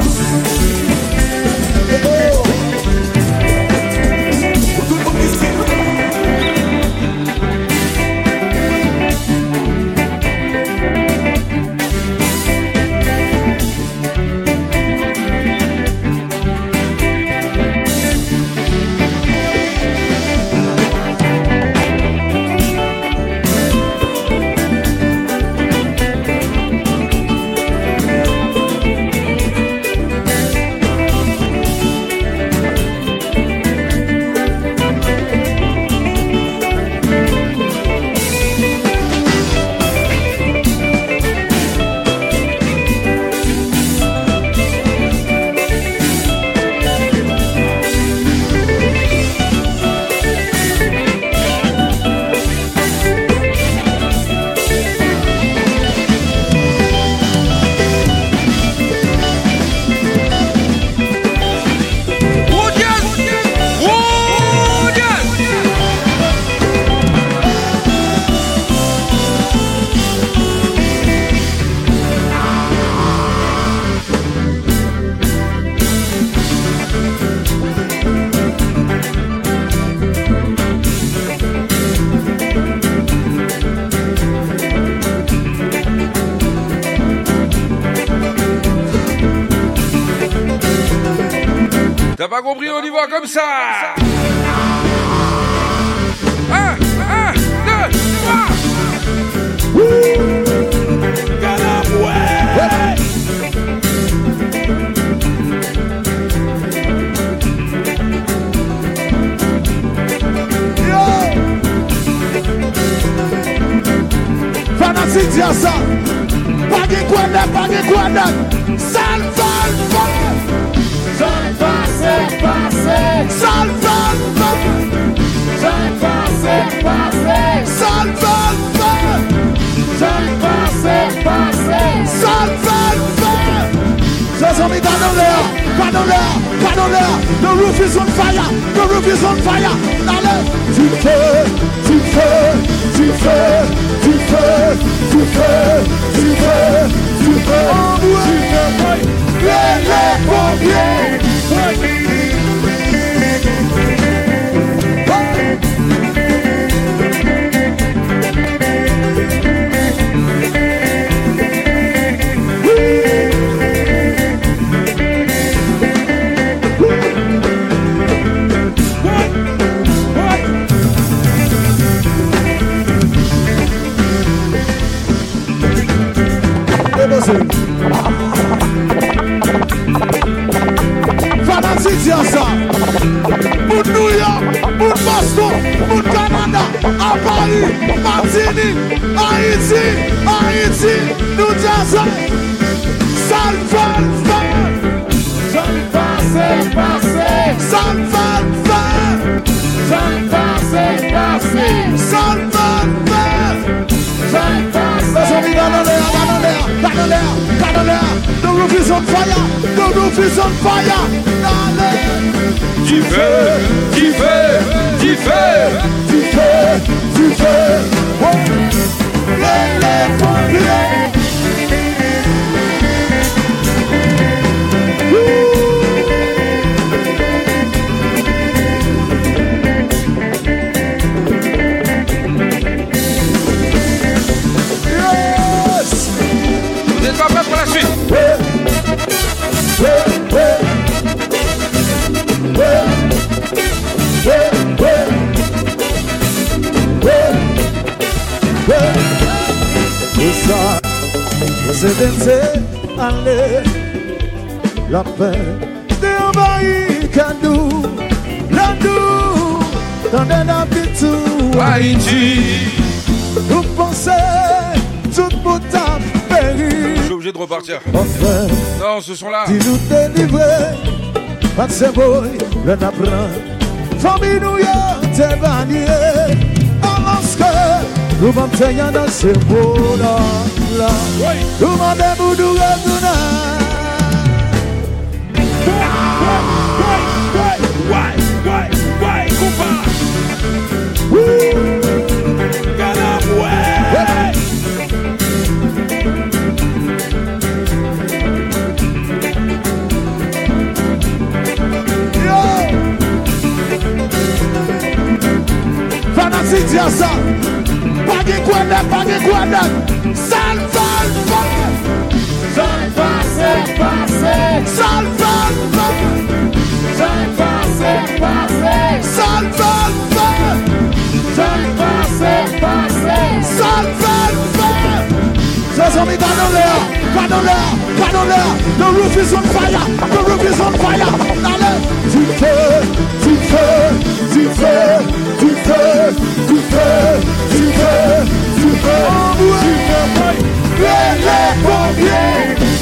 T'as pas compris, on y va comme ça. Un, un, deux, trois. Fanatique dit ça. Pas de quoi de, pas de quoi de. Sale, sale, sale. Sale, passé, passé. Sale, sale, sale. Sale, passé, passé. Sale, sale, sale. Sale, passé, passé. Sale, sale, sale. Just on me down there, down there, down there. The roof is on fire. The roof is on fire. Now let's à Paris, Martinique, Haïti, Haïti, New Jersey. Sale fan, fan. Sale passé, passé. Sale fan, fan. Sale passé, passé. Sale fan, fan. Sale passé. Let's go, got on there, got on there, got on there, got on there. The roof is on fire, the roof is on fire. Du feu, du feu, du feu, du feu, du feu. Les, les pompiers. Vous êtes pas prêts pour la suite? Ouais. Ouais, ouais. Ouais. Ouais, ouais. Ouais. Ouais. Tout ça, vous êtes allez, la paix de envahir Kadou, la doux, dans un habitant Haïti. Vous pensez, tout le monde a péri. Je suis obligé de repartir. Enfin, non, ce sont là. dis-nous délivrer. Pas de cerveau, le napran. Famille nous y a dévalié. Alors que nous vamos tenir dans ce monde-là. Nous demandons nous retourner. Why, why, why, compa? Get up, way! Fanatique dire ça. Pas de quoi d'autre, pas de quoi d'autre. Sale, sale, sale. Sale, passé, passé. Sale, sale, sale. Sale, passé, passé. Sale, sale, sale. Sale, passé, passé. Sale, sale, sale. C'est son mi pas dans l'air, pas dans l'air, pas dans l'air. The roof is on fire, the roof is on fire. Allez, du feu, du feu, du feu. Du feu, du feu, du feu, du feu, du feu, les, les pompiers.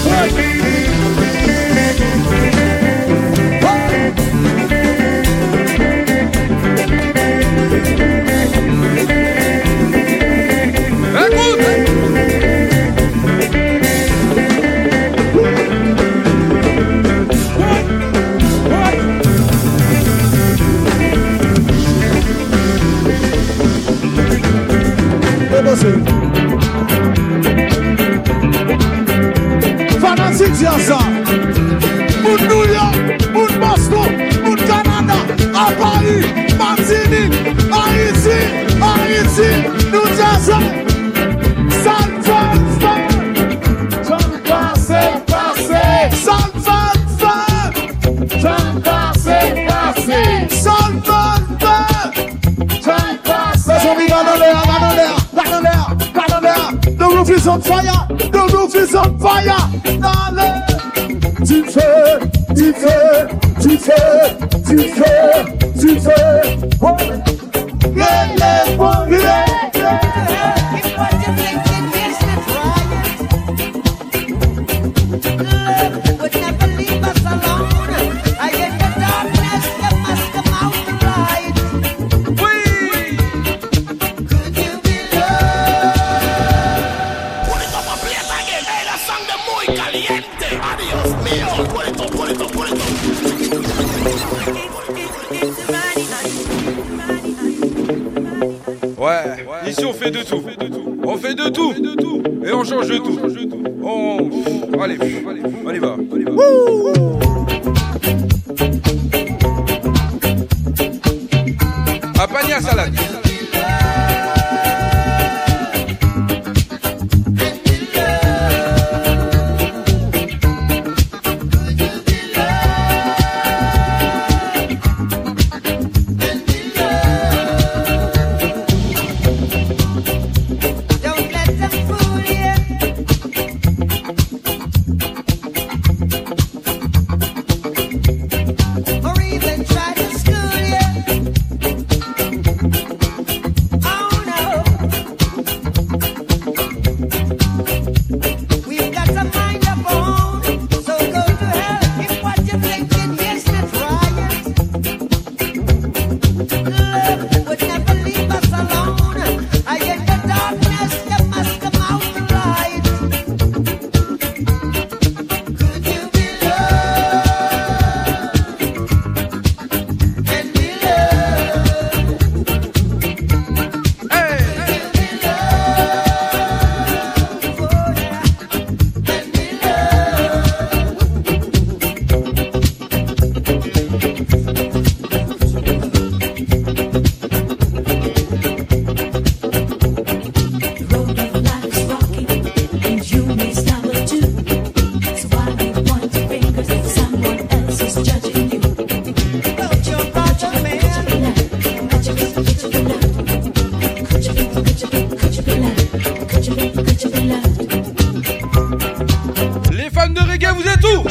Fanatique dire ça. Moun New York, moun Boston, moun Canada, à Paris, Martinique, Haïti, Haïti, New Jersey. Sale fan fan. J'en passe, passé. Sale fan fan. J'en passe, passé. Sale fan fan. J'en passe. Let's go, got on there, got on there, got on there, got on there. The roof is on fire, the roof is on fire. Allez. Du feu, du feu, du feu, du feu, du feu. Les, les pompiers. Would never leave us alone. I get the darkness, you must come out the light. Could you be loved? Put it up a place again. Hey, that song de muy caliente. Adios mío. Put it up, put it up, put it up. Ouais, ici on fait de tout. On fait de tout. Et on change de tout. On... Allez, on y va. On y va. Un panier à salade. Or even try to school you. Les fans de reggae, vous êtes où?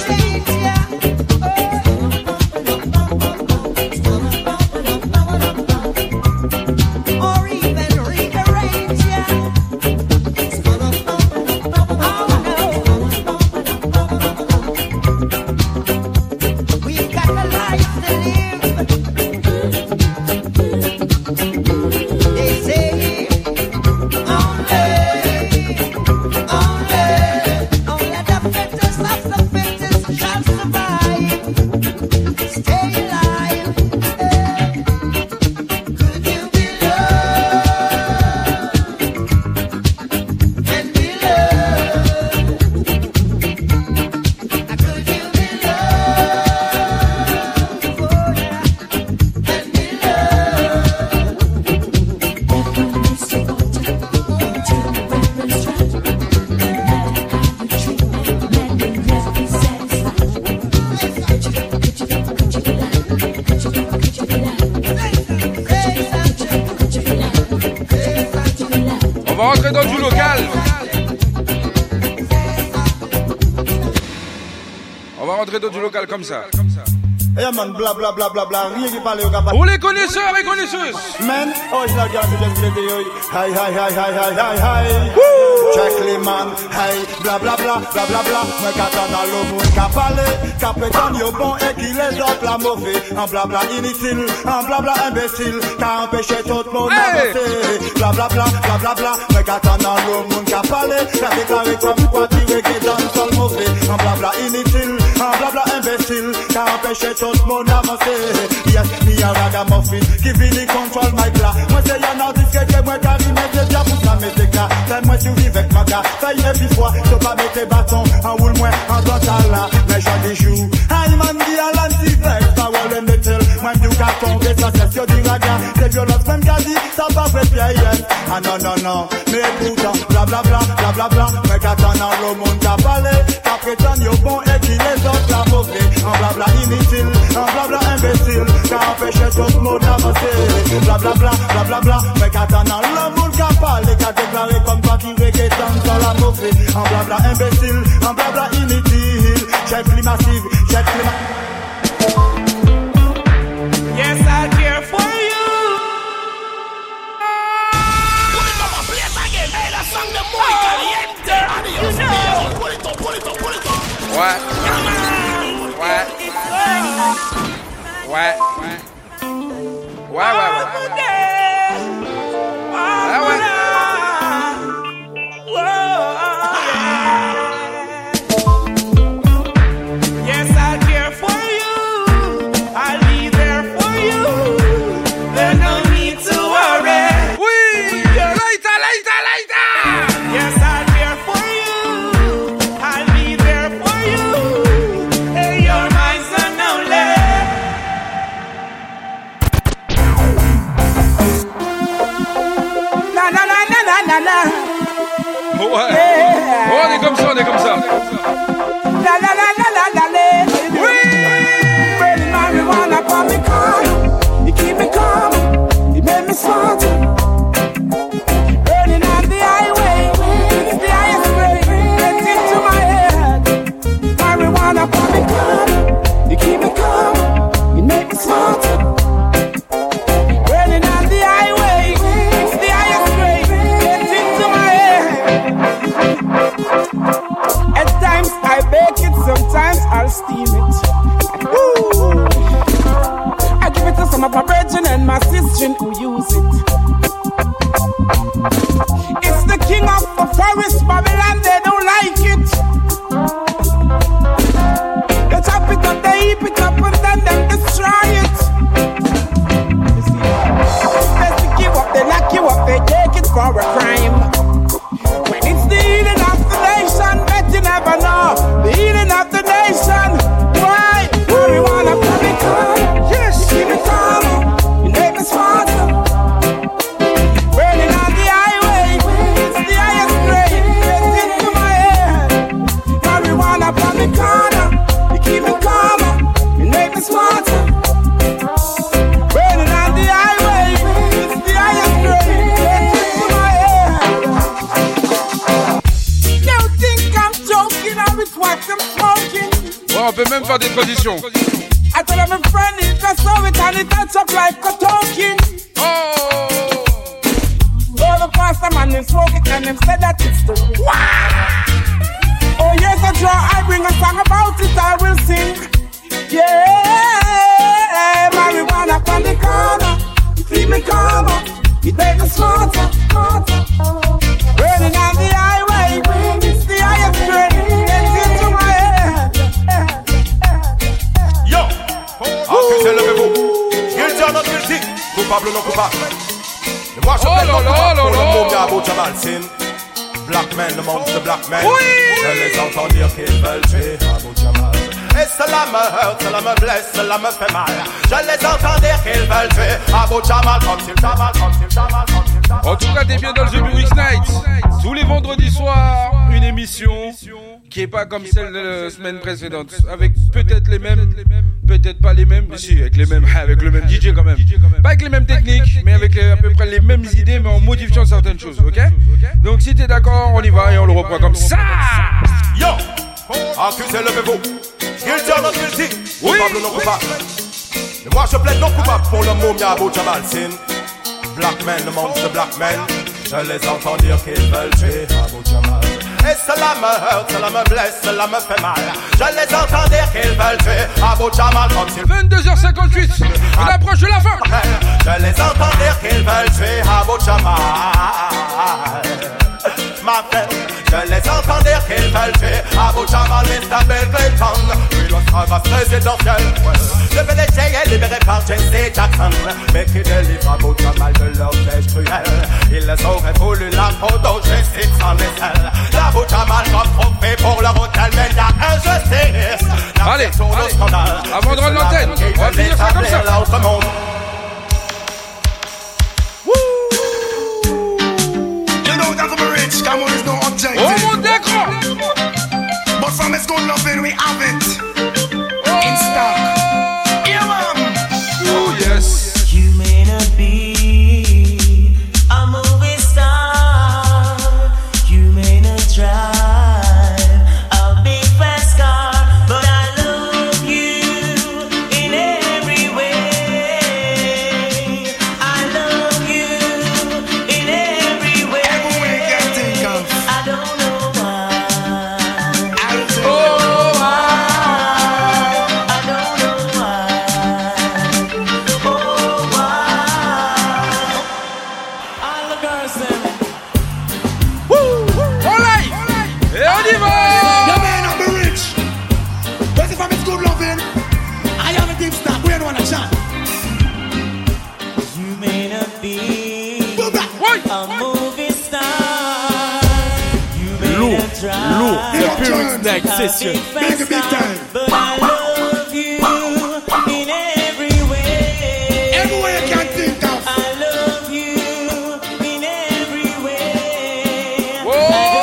On va rentrer dans du local. On va rentrer dans du local comme ça. Eh man, bla bla bla bla bla, rien qui parle au capable. Pour les connaisseurs et connaisseuses. Man, oh je la garde, je l'aime bien, hi hi hi hi hi hi hi. Check les man, hey, bla bla bla bla bla bla. Moi qu'attends dans l'eau, moi qu'à parler, qu'à pétanne yo bon et qui les autres la mauvais. En bla bla inutile, en bla bla imbécile, qu'à empêcher tout le monde d'avancer. Bla bla bla bla bla bla. Moi qu'attends dans l'eau, moi qu'à parler, qu'à déclarer comme quoi tirer qui dans le sol mauvais. En bla bla inutile, en bla bla imbécile, qu'à empêcher tout le monde avancer. Yes, me a ragamuffin qui vini control my glas. Moi c'est y'en artiste que moi carry mes déjà pour ça mes éclats. C'est moi survivre avec ma gars. Ça y est puis fois, tu pas mettre tes bâtons en roule moi en total là. Mais j'en des jours. Aïe man dit à l'anti-vex, ça va le metal. Moi du carton, et ça c'est sur du raga. C'est violence même qu'a dit, ça va faire pied. Ah non non non, mais pourtant, bla bla bla, bla bla bla. Mais qu'attend dans le monde qu'a parlé, qu'a prétend yo bon et qui les autres la mauvais. En bla bla inutile, en bla bla imbécile, qu'a empêché tout le monde d'avancer. Bla bla bla, bla bla bla. Mais qu'attend dans le monde qu'a parlé, qu'a déclaré comme quoi qui reggae dans la mauvais. En bla bla imbécile, en bla bla inutile. Check les massive, check les massive. Yes, I care for you. Put it up, play it again. Hey, that song the muy caliente. Adios, mío. Pull it up, pull it up, pull it up. Ouais. Ouais. Ouais. Ouais, ouais, ouais. Ouais, ouais. Yes, I care for you. I'll be there for you. There's no need to worry. Oui, later, later, later. Yes, I care for you. I'll be there for you. Hey, you're my son only. Na na na na na na na. Ouais. Yeah. Oh, on est comme ça, on est comme ça. La la la la la la la. Oui. Burning marijuana for me calm. You keep me calm. You make me smart. Burning on the highway. It's the highest grade. Gets into my head. Marijuana for me calm. You keep me calm. You make me smart. Burning on the highway. It's the highest grade. Gets into my head. At times I bake it, sometimes I'll steam it. Woo! I give it to some of my brethren and my sister who use it. It's the king of the forest, Babylon, they don't like it. They chop it up, they heap it up, and then they destroy it. You see, they stick you up, they lock you up, they take it for a crime. When it's the healing of the nation, bet you never know. The healing of the nation. Why? Marijuana for me calm. Yes. You keep me calm. You make me smarter. Burning on the highway. It's the highest grade. Get into my head. Marijuana for me corner. You keep me calmer. You make me smarter. Burning on the highway. It's the highest grade. Get into on peut même faire des transitions. I tell them friend it, just saw it and it touch up like a talking. Oh! Oh, the pastor man, they smoke it and them said that it's the wow! Oh, yes, I draw, I bring a song about it, I will sing. Yeah, marijuana on the corner, keep me calmer, it make us smarter, smarter. Burning on the highway, it's the highest grade, gets into my head. Yo, accusé, levez-vous. Guilty or not guilty, coupable ou non coupable. Le moi je plaide non coupable pour le mot de Abu Jamal Sin. Black men amongst the black men. Je les entends dire qu'ils veulent tuer Abu Jamal. Et cela me heurte, cela me blesse, cela me fait mal. Je les entends dire qu'ils veulent tuer Abu Jamal comme s'il Jamal, comme s'il Jamal, comme s'il Jamal. En tout cas, t'es bien dans le The Burix Night. Tous les vendredis soirs, une émission qui est pas comme celle de la semaine précédente. Avec peut-être les mêmes, peut-être pas les mêmes, mais si, avec les mêmes, avec le même D J quand même. Pas avec les mêmes techniques, mais avec à peu près les mêmes idées, mais en modifiant certaines choses, ok? Donc si t'es d'accord, on y va et on le reprend comme ça. Yo, accusé, levez-vous. Guilty or not guilty, coupable ou non coupable. Et moi je plaide non coupable pour le mot Abu Jamal Sin. Black men amongst the black men. Je les entends dire qu'ils veulent tuer Abu Jamal. Et cela me heurte, cela me blesse, cela me fait mal. Je les entends dire qu'ils veulent tuer Abu Jamal comme s'il vingt-deux heures cinquante-huit, on approche de la fin. Je les entends dire qu'ils veulent tuer Abu Jamal. Ma frère, je les entends dire qu'ils veulent tuer Abu Jamal, mister Bill Clinton. Puis l'esclavage présidentiel, le P D G est libéré par Jesse Jackson, mais qui délivre Abu Jamal de leur piège cruel. Ils les auraient voulu la photo justice sans aisselle. Abu Jamal comme trophée pour leur hôtel, mais y'a injustice. Allez, allez, avant de rendre l'antenne, on va finir ça comme ça. Come on, there's no objective. Oh mon d'écran. But from it's good loving, we have it in stock. Yeah, man. Oh yes. You may not be a movie star. You may not drive a big fast car, but I love you in every way. I love you in every way. Every way you can think of. I don't know why. I don't Oh, why? I don't know why. Oh, why? All the girls them. On live. Et on y va. Your man up the rich. But if I'm it's good loving, I have a deep stock. We don't want to chat. You may not be a movie star. You may Lourd, not drive lourd, a The Burix Night big Session. fast Big, big car, time. but I love you in every way. Every way you can think of. I love you in every way. Whoa. I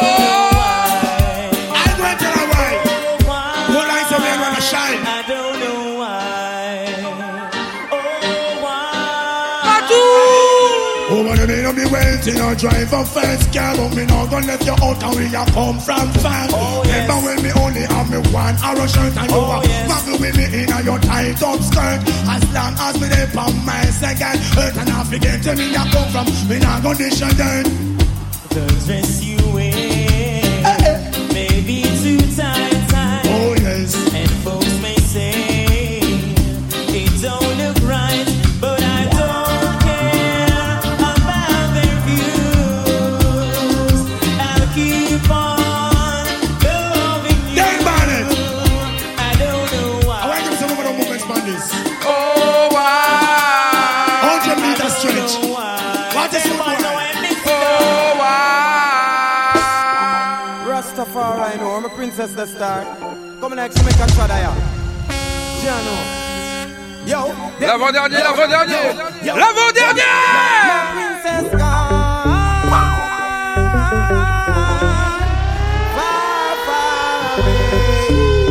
I'm going to tell her why. don't know why. One line so we ain't gonna shine. I don't know why. Oh, why? Oh, when you may not be wealthy, no drive a fast car, but me not gonna left you out and we a come from far. Oh, yes. Remember when me only have me one arrow shirt and you Oh, a yes. muggle with me in a your tight up skirt. As long as me there for my second hurt and I forget to me a come from, me not gonna dish a dirt. The dress you wear may be too tight, tight. Oh yes. And folks may say it don't look right, but I don't care about their views. I'll keep on loving you. Dave Barnett. I don't know I why. want to some of the movements on this. Oh wow. Hundred meter stretch. What is your boy? Oh wow. Rastafari, know, I'm a princess the star. Come next, make a shot of ya. Jano. Yo. L'avant-dernier, l'avant-dernier. Yo. L'avant-dernier. Princess gone. Far, far away.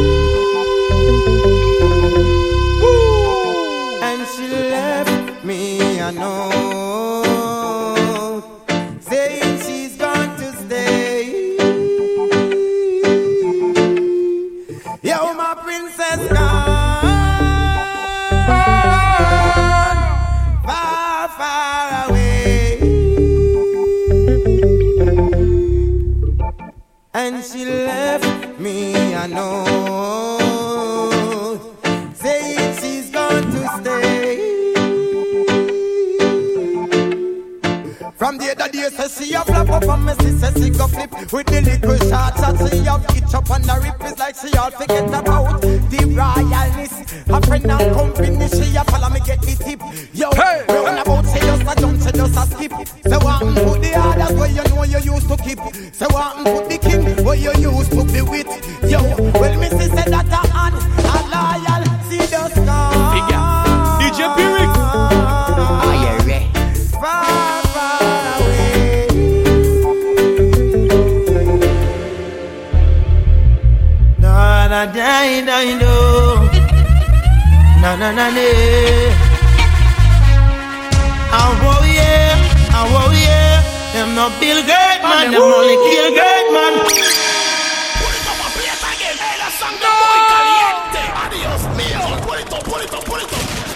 And she left me a note saying she's going to stay. Yo, my princess Since she left me, I know. Say she's going to stay. From the other day, say she a flap up and me see say she go flip with the little shots that she have itch up on the rip. It's like she all forget about the royalness. A friend and company, she a follow me get the tip. Yo, hey, round hey. About say just a jump, say just a skip. Say what and put the others where you know you used to keep. Say what and put the king where you used to be with. Yo, well me see say that a hand a loyal, see just gone. Figure, D J Pyric. Are you ready? Far, far away. No, no, die, die, do. Na na na na. Oh yeah, oh yeah. Them no Bill Gates man, them only kill great man. Put it up and play it again. Hey, that song the boy caliente. Adios mío. Put it up, put it up, put it up.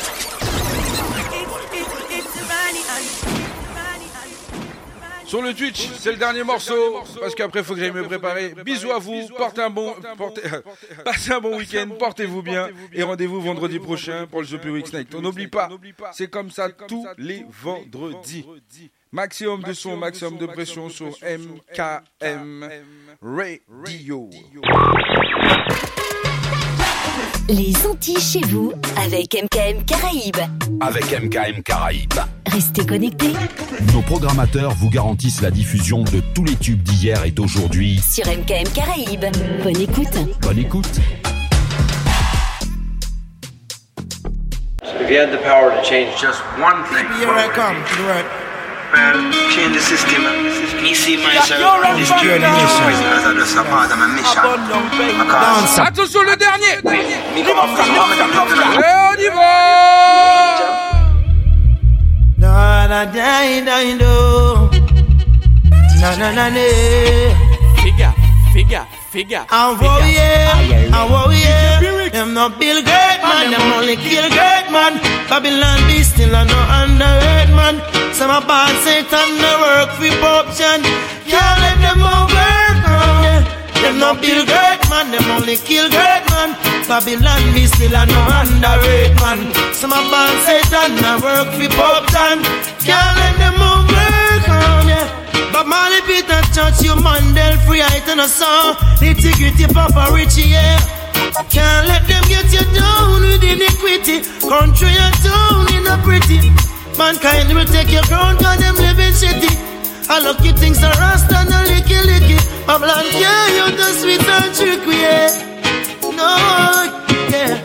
Sur le Twitch, c'est le dernier morceau, parce qu'après il faut que j'aille me préparer. Bisous à vous, portez un bon, portez, passez un bon week-end, portez-vous bien, et rendez-vous vendredi prochain pour le The Pyric Night. On n'oublie pas, c'est comme ça tous les vendredis. Maximum de son, maximum de pression sur M K M Radio. Les Antilles chez vous avec M K M Caraïbes. Avec M K M Caraïbes. Restez connectés. Nos programmateurs vous garantissent la diffusion de tous les tubes d'hier et d'aujourd'hui. Sur M K M Caraïbes. Bonne écoute. Bonne écoute. So if you had the power to change just one thing, here I come to the work. Well, change the system. Me see myself in this journey mission as a just a part of my mission. Because attention le dernier. Me come up from Africa. Et on y va. Na na na na do. Na na na na. Figure, figure, figure. Oh yeah, oh yeah. Them no Bill Gates man, them only kill great man. Babylon be still a no underrated man. Some a bad Satan no work for corruption. Can't let them work on yeah. Them no Bill Gates man, them only kill great man. Babylon be still a no underrated man. Some a bad Satan no work for corruption. Can't let them work on yeah. But Marley Peter Church, you Mandel free height and a song. Integrity Papa Richie, yeah. Can't let them get you down with iniquity. Country and town in a pretty. Mankind will take your crown cause them living shitty. I lucky things are rasta and a licky licky. Babylon yeah, you the sweet and tricky, yeah. No, yeah.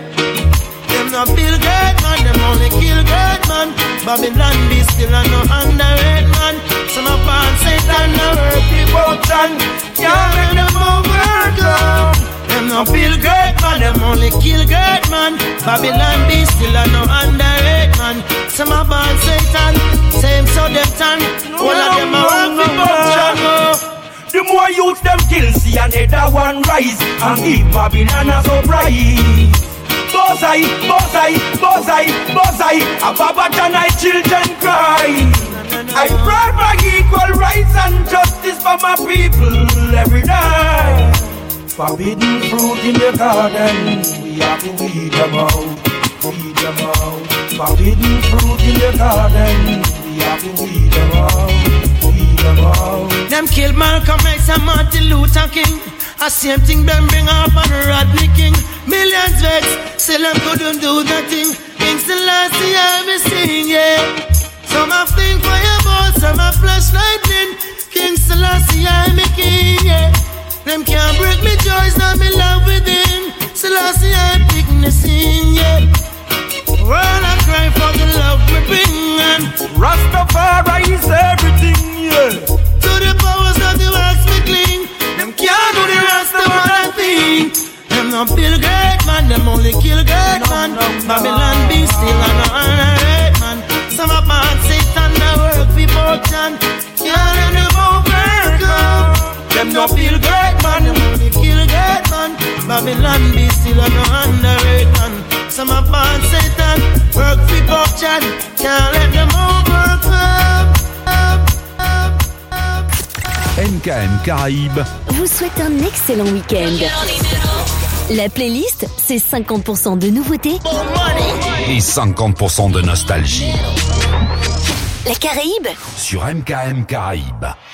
Them not Bill Gates man, them only kill great man. Babylon be still a no underrated man. Some of us Satan no work devotion. Can't let them overcome. Them no feel great man, them only kill great man. Babylon be still a no underrated man. Some of us Satan, same so them tan. All of them are work devotion. The more youths them kill, see another one rise and give Babylon a surprise. Bozai, Bozai, Bozai, Bozai, a Babat and I children cry. I pray for equal rights and justice for my people every day. Forbidden fruit in the garden, we have to weed them out, weed them out. Forbidden fruit in the garden, we have to weed them out, weed them out. Them kill Malcolm X and Martin Luther King. A same thing them bring up on Rodney King. Millions vex, still them couldn't do nothing. Kings the last year me sing, yeah. Some have think fireball, some have flash lightning. Kings the last year me king, yeah. Them can't break me joys, now me love within. Selassie I pick me sing, yeah. World I cry for the love we bring and Rastafari is everything, yeah. To the powers that you ask me cling. Them can't do the Rastafari thing. Them no feel great man, them only kill great man. Babylon be still and no underrated man. Some of my Satan that work for fortune. Can't let them overcome. Them no feel great man, them only kill great man. Babylon be still and no underrated man. Some of my Satan work for fortune. Can't let them overcome. M K M Caraïbes vous souhaite un excellent week-end. La playlist, c'est cinquante pour cent de nouveautés et cinquante pour cent de nostalgie La Caraïbe sur M K M Caraïbes.